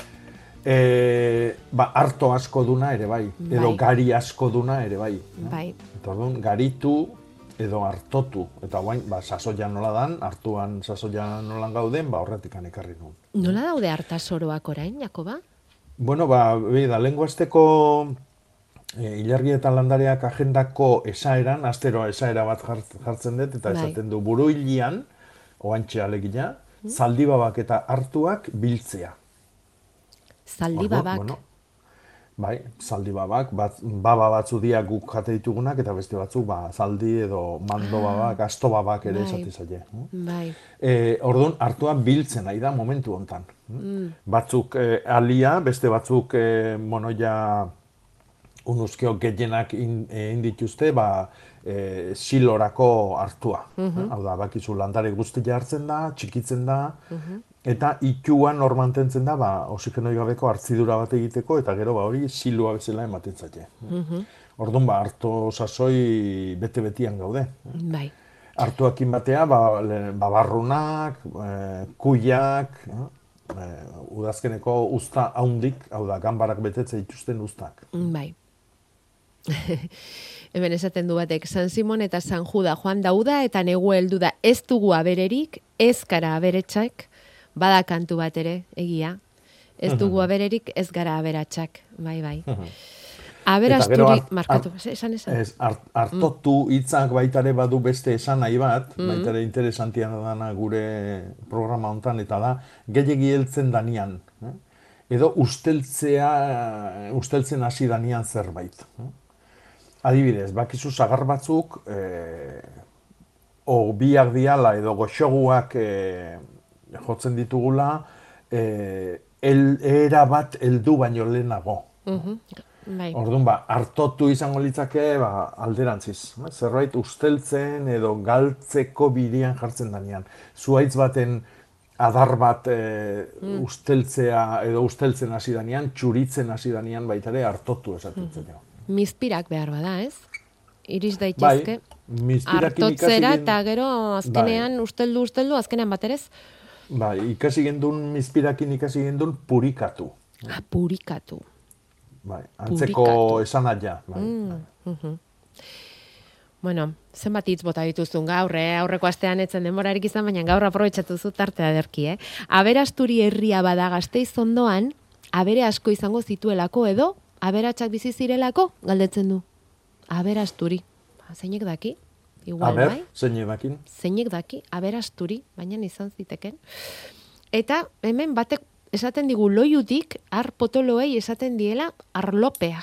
E, ba, harto asko duna ere bai, bai. Edo gari asko duna ere bai. Bai. Eta orduan, garitu edo hartotu. Eta guain, ba, sasoia nola dan, hartuan sasoia nolan gauden, ba, horretik ekarri nuen. Nola daude hartasoroak orain, Jakoba? Bueno, ba, da, lenguasteko e, ilargi eta landareak agendako esaeran, astero esaera bat jartzen dut, eta bai. Esaten du buruilian, oantxe alegina, mm. zaldibabak eta hartuak biltzea. Zaldibabak? Bueno, bai, zaldibabak, bat, baba batzu dia guk jate ditugunak, eta beste batzuk, ba, zaldi edo mando babak, asto babak ere esate zaie. Bai. E, orduan, hartua biltzen nahi da momentu hontan. Mm. Batzuk e, alia, beste batzuk e, monoia unuzkeo gehienak egin dituzte, ba, e, silorako hartua. Uh-huh. Hau da, bakizu landare guztia hartzen da, txikitzen da, uh-huh. eta ituan hor mantentzen da, ba, oxigenoi gabeko hartzidura bat egiteko, eta gero ba, hori silua bezala ematen zaie. Uh-huh. Orduan, ba, harto sasoi bete-betian gaude. Bai. Hartuakin batea, ba, babarrunak, e, kuiak, e, udazkeneko usta haundik, hau da, ganbarak betetze dituzten ustak. Bai. Hemen esaten du batek, San Simon eta San Juda joan dauda eta negu heldu da ez dugu abererik, ez gara aberetsak, bada kantu bat ere, egia. Ez dugu abererik, ez gara aberatsak, bai, bai. Aberasturi, markatu, esan esan? Ez, hartotu hitzak baitare badu beste esan nahi bat, mm. baitare interesantian dana gure programa hontan, eta da, gehiagi heltzen danian. Eh? Edo usteltzea, usteltzen hasi danian zerbait. Eh? Adibidez, bakizu sagar batzuk, eh, o biak diala edo goxoguak eh, jotzen ditugula, eh, el, era bat heldu baino lehenago. Uh-huh. Bai. Orduan, ba, hartotu izango litzake, ba, alderantziz. Zerbait usteltzen edo galtzeko bidean jartzen danean. Zuhaitz baten adar bat e, mm. usteltzea edo usteltzen hasi danean, txuritzen hasi danean baitare hartotu esaten zen. Mm. Mizpirak behar bada, ez? Iris daitezke. Bai, hartotzera eta gero azkenean bai. usteldu, usteldu, azkenean baterez? Bai, ikasi gendun, mizpirakin ikasi gendun purikatu. Ah, purikatu. Bai, antzeko esan aia. Bai. Mm, uh-huh. Bueno, zenbat hitz bota dituzun gaur, eh? Aurreko astean etzen denborarik izan, baina gaur aprobetxatu zu tartea derki, eh? Aberasturi herria bada Gasteiz ondoan, abere asko izango zituelako edo, aberatsak bizi zirelako, galdetzen du. Aberasturi. Zeinek daki? Igual, Aber, bai? zeinek daki? Zeinek daki, aberasturi, baina izan ziteken. Eta hemen batek esaten digu loiutik, ar potoloei esaten diela arlopea.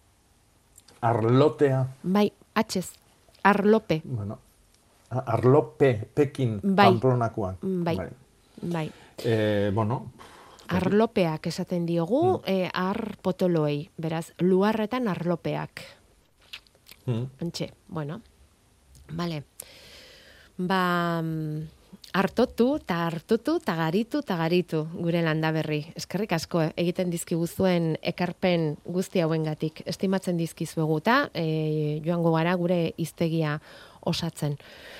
Arlotea? Bai, atxez, arlope. Bueno, arlope, Pekin, bai. Pamplonakoan. Bai, bai. bai. Eh, bueno... Arlopeak esaten diogu, mm. eh, ar potoloei, beraz, luarretan arlopeak. Mm. Antxe, bueno, vale. Ba, hartotu, eta hartutu, eta garitu, eta garitu gure Landaberri. Eskerrik asko egiten dizkiguzuen ekarpen guzti hauengatik. Estimatzen dizkizuegu eta e, joango gara gure hiztegia osatzen.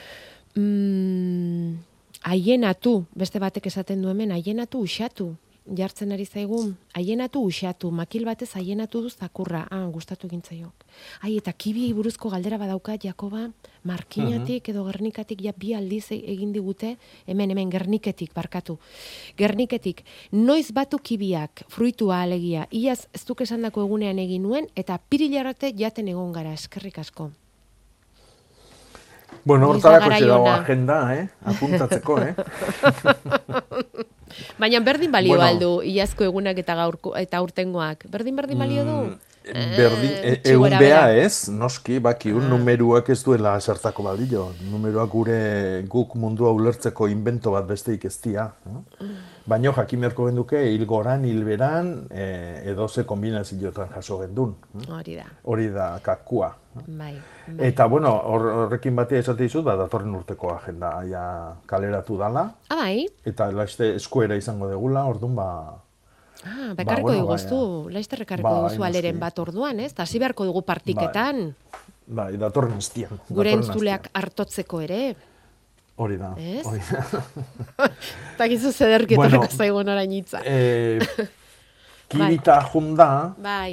Mm, aienatu, beste batek esaten du hemen, aienatu usatu. Jartzen ari zaigu, aienatu usatu, makil batez aienatu du zakurra. Ah, gustatu gintzaiok. Ai, eta kibi buruzko galdera badauka, Jakoba, Markinatik edo Gernikatik ja bi aldiz egin digute, hemen, hemen, Gerniketik, barkatu. Gerniketik, noiz batu kibiak, fruitua alegia, iaz ez duk esandako egunean egin nuen, eta pirilarate jaten egon gara, eskerrik asko. Bueno, hortarako dago agenda, eh? Apuntatzeko, eh? Baina berdin balio bueno, aldu, iazko egunak eta gaurko eta urtengoak. Berdin berdin balio du? Berdin, e, egun bea ez, noski, bakiun, ah. numeruak ez duela zertako balio. Numeruak gure guk mundua ulertzeko invento bat besteik ez dia. No? Baina jakin beharko genduke, hilgoran, hilberan, e, edo ze kombinazioetan jaso gendun. Hori da. Hori da kakua. Bai, bai. Eta, bueno, horrekin batea esate dizut, ba, datorren urteko agenda ja kaleratu dala. Ah, bai? Eta laiste eskuera izango degula, orduan, ba... Ah, bekarriko ba, bueno, diguztu, ba, laizte rekarriko ba, diguzu aleren bat orduan, ez? Hasi beharko dugu partiketan. Bai, ba, datorren estian. Gure entzuleak hartotzeko ere. Hori da, ez? Hori da. Eta gizu zederketarako bueno, zaigun orain hitza. Eh, kirita bai. Junda... Bai.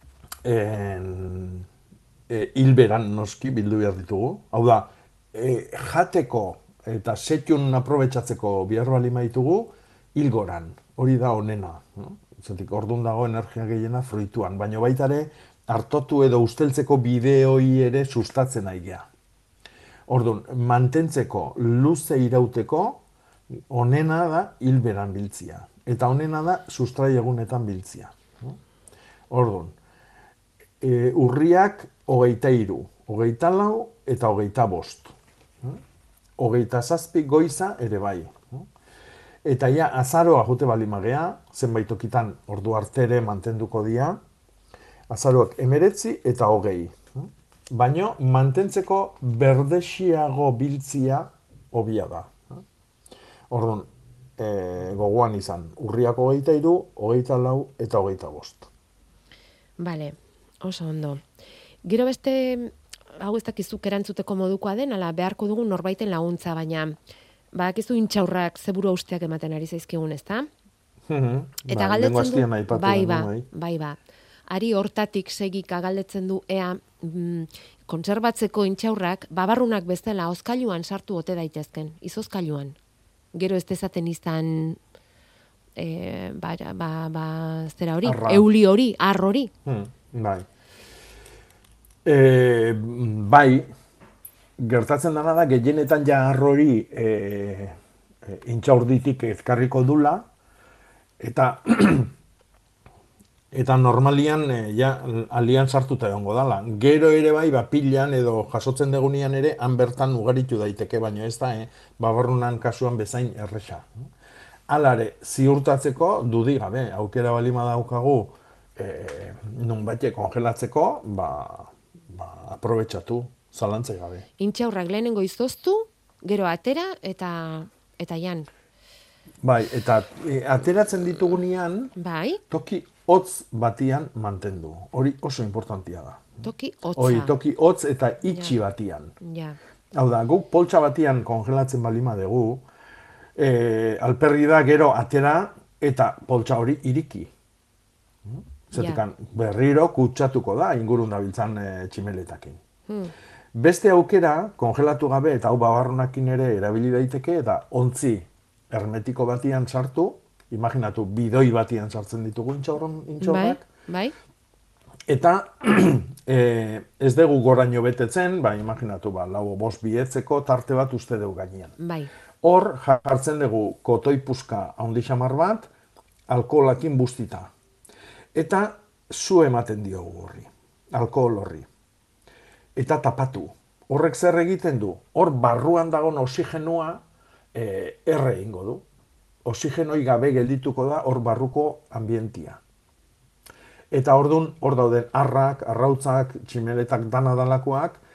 En... E, hilberan noski bildu behar ditugu. Hau da, e, jateko eta setxun aprobetxatzeko behar bali maitugu, hilgoran. Hori da onena. No? Zatik, orduan dago energia gehiena fruituan. Baina baita ere, hartotu edo usteltzeko bideoi ere sustatzen aigea. Orduan, mantentzeko luze irauteko, onena da hilberan biltzia. Eta onena da sustrai egunetan biltzia. No? Orduan, e, urriak hogeita hiru, hogeita lau eta hogeita bost. Hogeita zazpi goiza ere bai. Eta ja, azaroa jute bali magea, zenbait okitan ordu artere mantenduko dia, azaroak emeretzi eta hogei. Baina mantentzeko berdexiago biltzia hobia da. Orduan, e, gogoan izan, urriak hogeita hiru, hogeita lau eta hogeita bost. Bale, oso ondo. Gero beste, hau ez dakizuk erantzuteko modukoa den, ala beharko dugu norbaiten laguntza, baina badakizu intxaurrak zeburu austeak ematen ari zaizkigun, ezta? Mm-hmm. Eta ba, galdetzen du, bai, ba, bai, ba. Ari hortatik segika galdetzen du, ea, mm, konserbatzeko intxaurrak, babarrunak bezala, oskailuan sartu ote daitezken, izozkailuan. Gero ez dezaten izan, e, ba, ba, ba, zera hori, Arra. euli hori, ar hori. Hmm, bai. E, bai, gertatzen dena da, gehienetan ja arrori e, e, intxaurditik ezkarriko dula, eta eta normalian e, ja, alian sartuta egongo dala. Gero ere bai, ba, pilan edo jasotzen degunian ere, han bertan ugaritu daiteke, baina ez da, eh, babarrunan kasuan bezain erresa. Alare, ziurtatzeko, dudi gabe, aukera balima daukagu, e, nun baite kongelatzeko, ba, ba, aprobetxatu, zalantzai gabe. Intxaurrak lehenengo izoztu, gero atera eta eta jan. Bai, eta e, ateratzen ditugunean, bai. Toki hotz batian mantendu. Hori oso importantia da. Toki hotza. Hori, toki hotz eta itxi ja. Batian. Ja. Hau da, guk poltsa batian kongelatzen balima dugu, e, alperri da gero atera eta poltsa hori iriki. Zetikan, ja. Berriro kutsatuko da, ingurun dabiltzan e, tximeletakin. Hmm. Beste aukera, kongelatu gabe eta hau babarrunakin ere erabili daiteke, eta ontzi hermetiko batian sartu, imaginatu, bidoi batian sartzen ditugu intxaurrak. Bai, bai. Eta e, ez dugu goraino betetzen, ba, imaginatu, ba, lau bost bietzeko tarte bat uste dugu gainean. Bai. Hor jartzen dugu kotoi puska handi xamar bat, alkoholakin bustita. Eta zu ematen diogu horri, alkohol horri. Eta tapatu. Horrek zer egiten du? Hor barruan dagoen oxigenua e, erre ingo du. Oxigenoi gabe geldituko da hor barruko ambientia. Eta ordun hor dauden arrak, arrautzak, tximeletak dana dalakoak,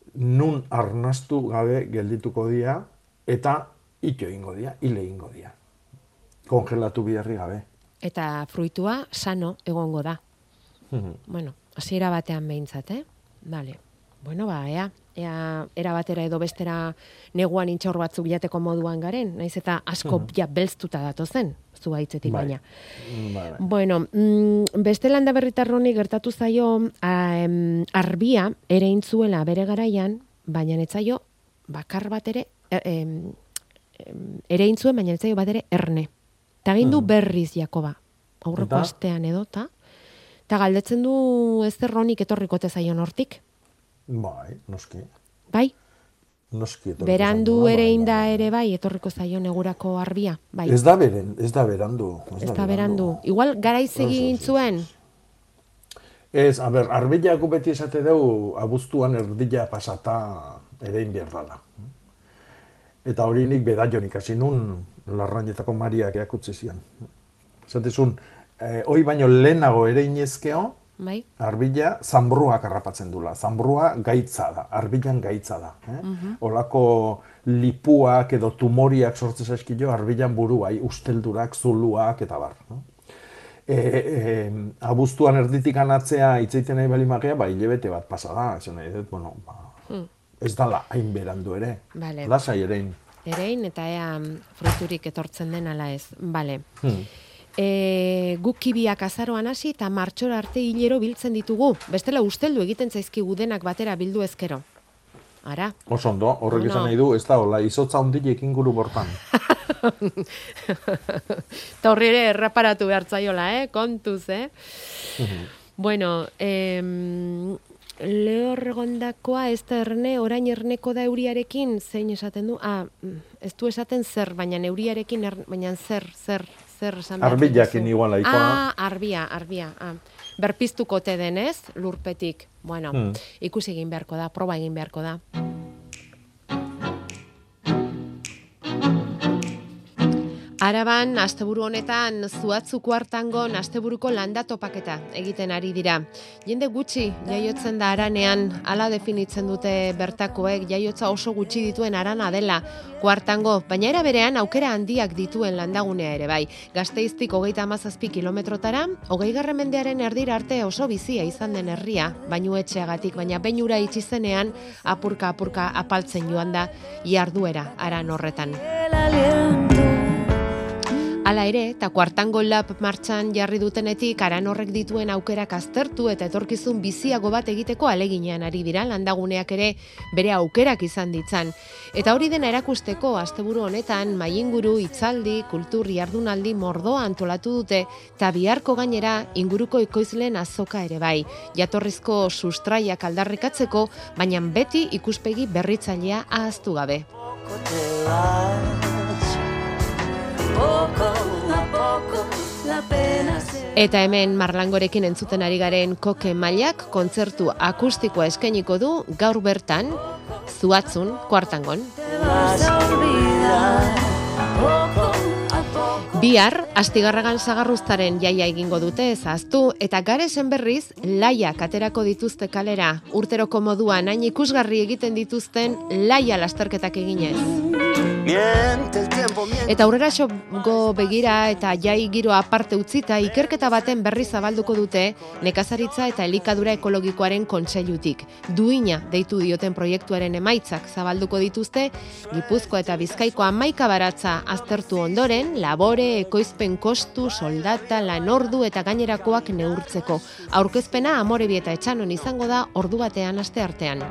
nun arnastu gabe geldituko dira, eta ito ingo dira, hile ingo dira. Kongelatu biharri gabe. Eta fruitua sano egongo da. Bueno, hasiera batean behintzat, eh? Vale. Bueno, ba, ea, ea, era batera edo bestera neguan intxaur batzuk jateko moduan garen, naiz eta asko ja belztuta datozen, zuhaitzetik baina. Bai. Bueno, mm, beste landa berritarroni gertatu zaio a, em, arbia ere intzuela bere garaian, baina netzaio bakar bat ere, em, em, ere intzuen, baina netzaio bat ere erne. Eta gindu berriz Jakoba, aurreko Eta? astean edo, ta? Eta galdetzen du ez erronik etorrikote zaion hortik. Bai, noski. Bai? Noski etorriko Berandu zaiola, ere bai, inda ere bai, etorriko zaion egurako arbia. Bai. Ez da beren, ez da berandu. Ez da berandu. Igual garaiz egin zuen. Ez, a ber, arbeilako beti esate dugu abuztuan erdila pasata erein behar dala. Eta hori nik bedaionik hasi nun Larrañetako Mariak eakutzi zian. Zatezun, eh, hoi baino lehenago ere inezkeo, bai. arbila zanbruak harrapatzen dula. Zanbrua gaitza da, arbilan gaitza da. Eh? Mhm. Olako lipuak edo tumoriak sortzen zaizkio arbilan buruai, usteldurak, zuluak eta bar. No? E, e, abuztuan erditik anatzea itzaiten nahi bali magia, ba, hilebete bat pasa da. Ez, nahi, bueno, ba, Hmm. ez dala hain berandu ere. Vale. Lasai erein. Erein eta ea fruiturik etortzen den ala ez. Vale. Hmm. E, guk kibiak azaroan hasi eta martxora arte hilero biltzen ditugu. Bestela usteldu egiten zaizkigu denak batera bildu ezkero. Ara. Oso ondo, horrek Ono. esan nahi du, ez da, hola, izotza ondilek inguru bortan. Eta horri ere erraparatu behar zaiola, eh? Kontuz, eh? Bueno, em, lehorregondakoa ez da erne, orain erneko da euriarekin, zein esaten du? Ah, ez du esaten zer, baina euriarekin, er, baina zer, zer, zer esan behar Arbilakin duzu? igual laikoa. Ah, arbia, arbia. Ah. Berpiztukote denez, lurpetik. Bueno, Hmm. ikusi egin beharko da, proba egin beharko da. Araban, asteburu honetan, Zuatzuko hartangon asteburuko landa topaketa egiten ari dira. Jende gutxi jaiotzen da aranean, hala definitzen dute bertakoek, jaiotza oso gutxi dituen arana dela kuartango, baina era berean aukera handiak dituen landagunea ere bai. Gasteiztik hogeita hamazazpi kilometrotara, hogeigarren mendearen erdira arte oso bizia izan den herria, bainu etxeagatik, baina beinura itxi zenean apurka-apurka apaltzen joan da jarduera aran horretan. Hala ere, eta kuartango lab martxan jarri dutenetik aran horrek dituen aukerak aztertu eta etorkizun biziago bat egiteko aleginean ari dira landaguneak ere bere aukerak izan ditzan. Eta hori dena erakusteko asteburu honetan mailinguru, hitzaldi, kultur jardunaldi mordoa antolatu dute eta biharko gainera inguruko ekoizleen azoka ere bai. Jatorrizko sustraiak aldarrikatzeko, baina beti ikuspegi berritzailea ahaztu gabe. Eta hemen Marlangorekin entzuten ari garen Koke Mailak kontzertu akustikoa eskainiko du gaur bertan Zuatzun kuartangon. Bihar, Astigarragan Sagarruztaren jaia egingo dute ezaztu eta Garesen berriz laiak aterako dituzte kalera. Urteroko moduan hain ikusgarri egiten dituzten laia lasterketak eginez. Eta aurrera xogo begira eta jai giro aparte utzita ikerketa baten berri zabalduko dute nekazaritza eta elikadura ekologikoaren kontseilutik. Duina deitu dioten proiektuaren emaitzak zabalduko dituzte Gipuzkoa eta Bizkaiko hamaika baratza aztertu ondoren, labore, ekoizpen kostu, soldata, lanordu eta gainerakoak neurtzeko. Aurkezpena Amorebi eta Etxanon izango da ordu batean asteartean.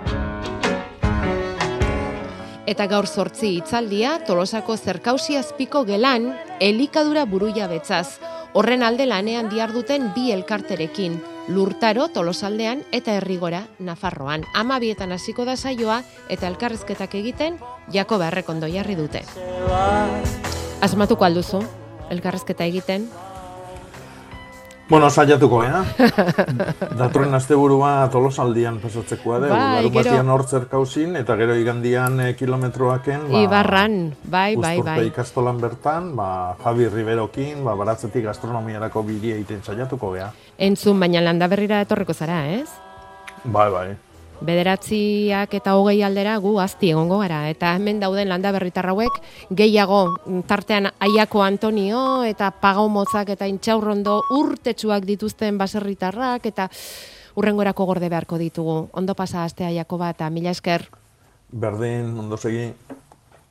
Eta gaur zortzi hitzaldia Tolosako Zerkausi azpiko gelan elikadura buruia betzaz. Horren alde lanean diharduten bi elkarterekin, Lurtaro Tolosaldean eta Herrigora Nafarroan. Amabietan hasiko da saioa eta elkarrizketak egiten Jakoba Errekondo jarri dute. Asmatuko alduzu elkarrizketa egiten? Bueno, saiatuko, eh? Datorren asteburua Tolosaldian pasatzekoa dugu. Bai, Larun gero- batian hor zerkauzin, eta gero igandian eh, kilometroaken, ba, Ibarran, bai, bai, Uzturpe bai. ikastolan bertan, ba, Javi Riberokin, ba, baratzetik gastronomiarako bidea egiten saiatuko gea. Entzun, baina landa berrira etorriko zara, ez? Bai, bai. Bederatziak eta hogei aldera gu azti egongo gara. Eta hemen dauden landa berritar hauek gehiago tartean Aiako Antonio eta Pagau Motzak eta Intxaurrondo urtetsuak dituzten baserritarrak eta urrengorako gorde beharko ditugu. Ondo pasa astea Jakoba eta mila esker. Berdin, ondo segi.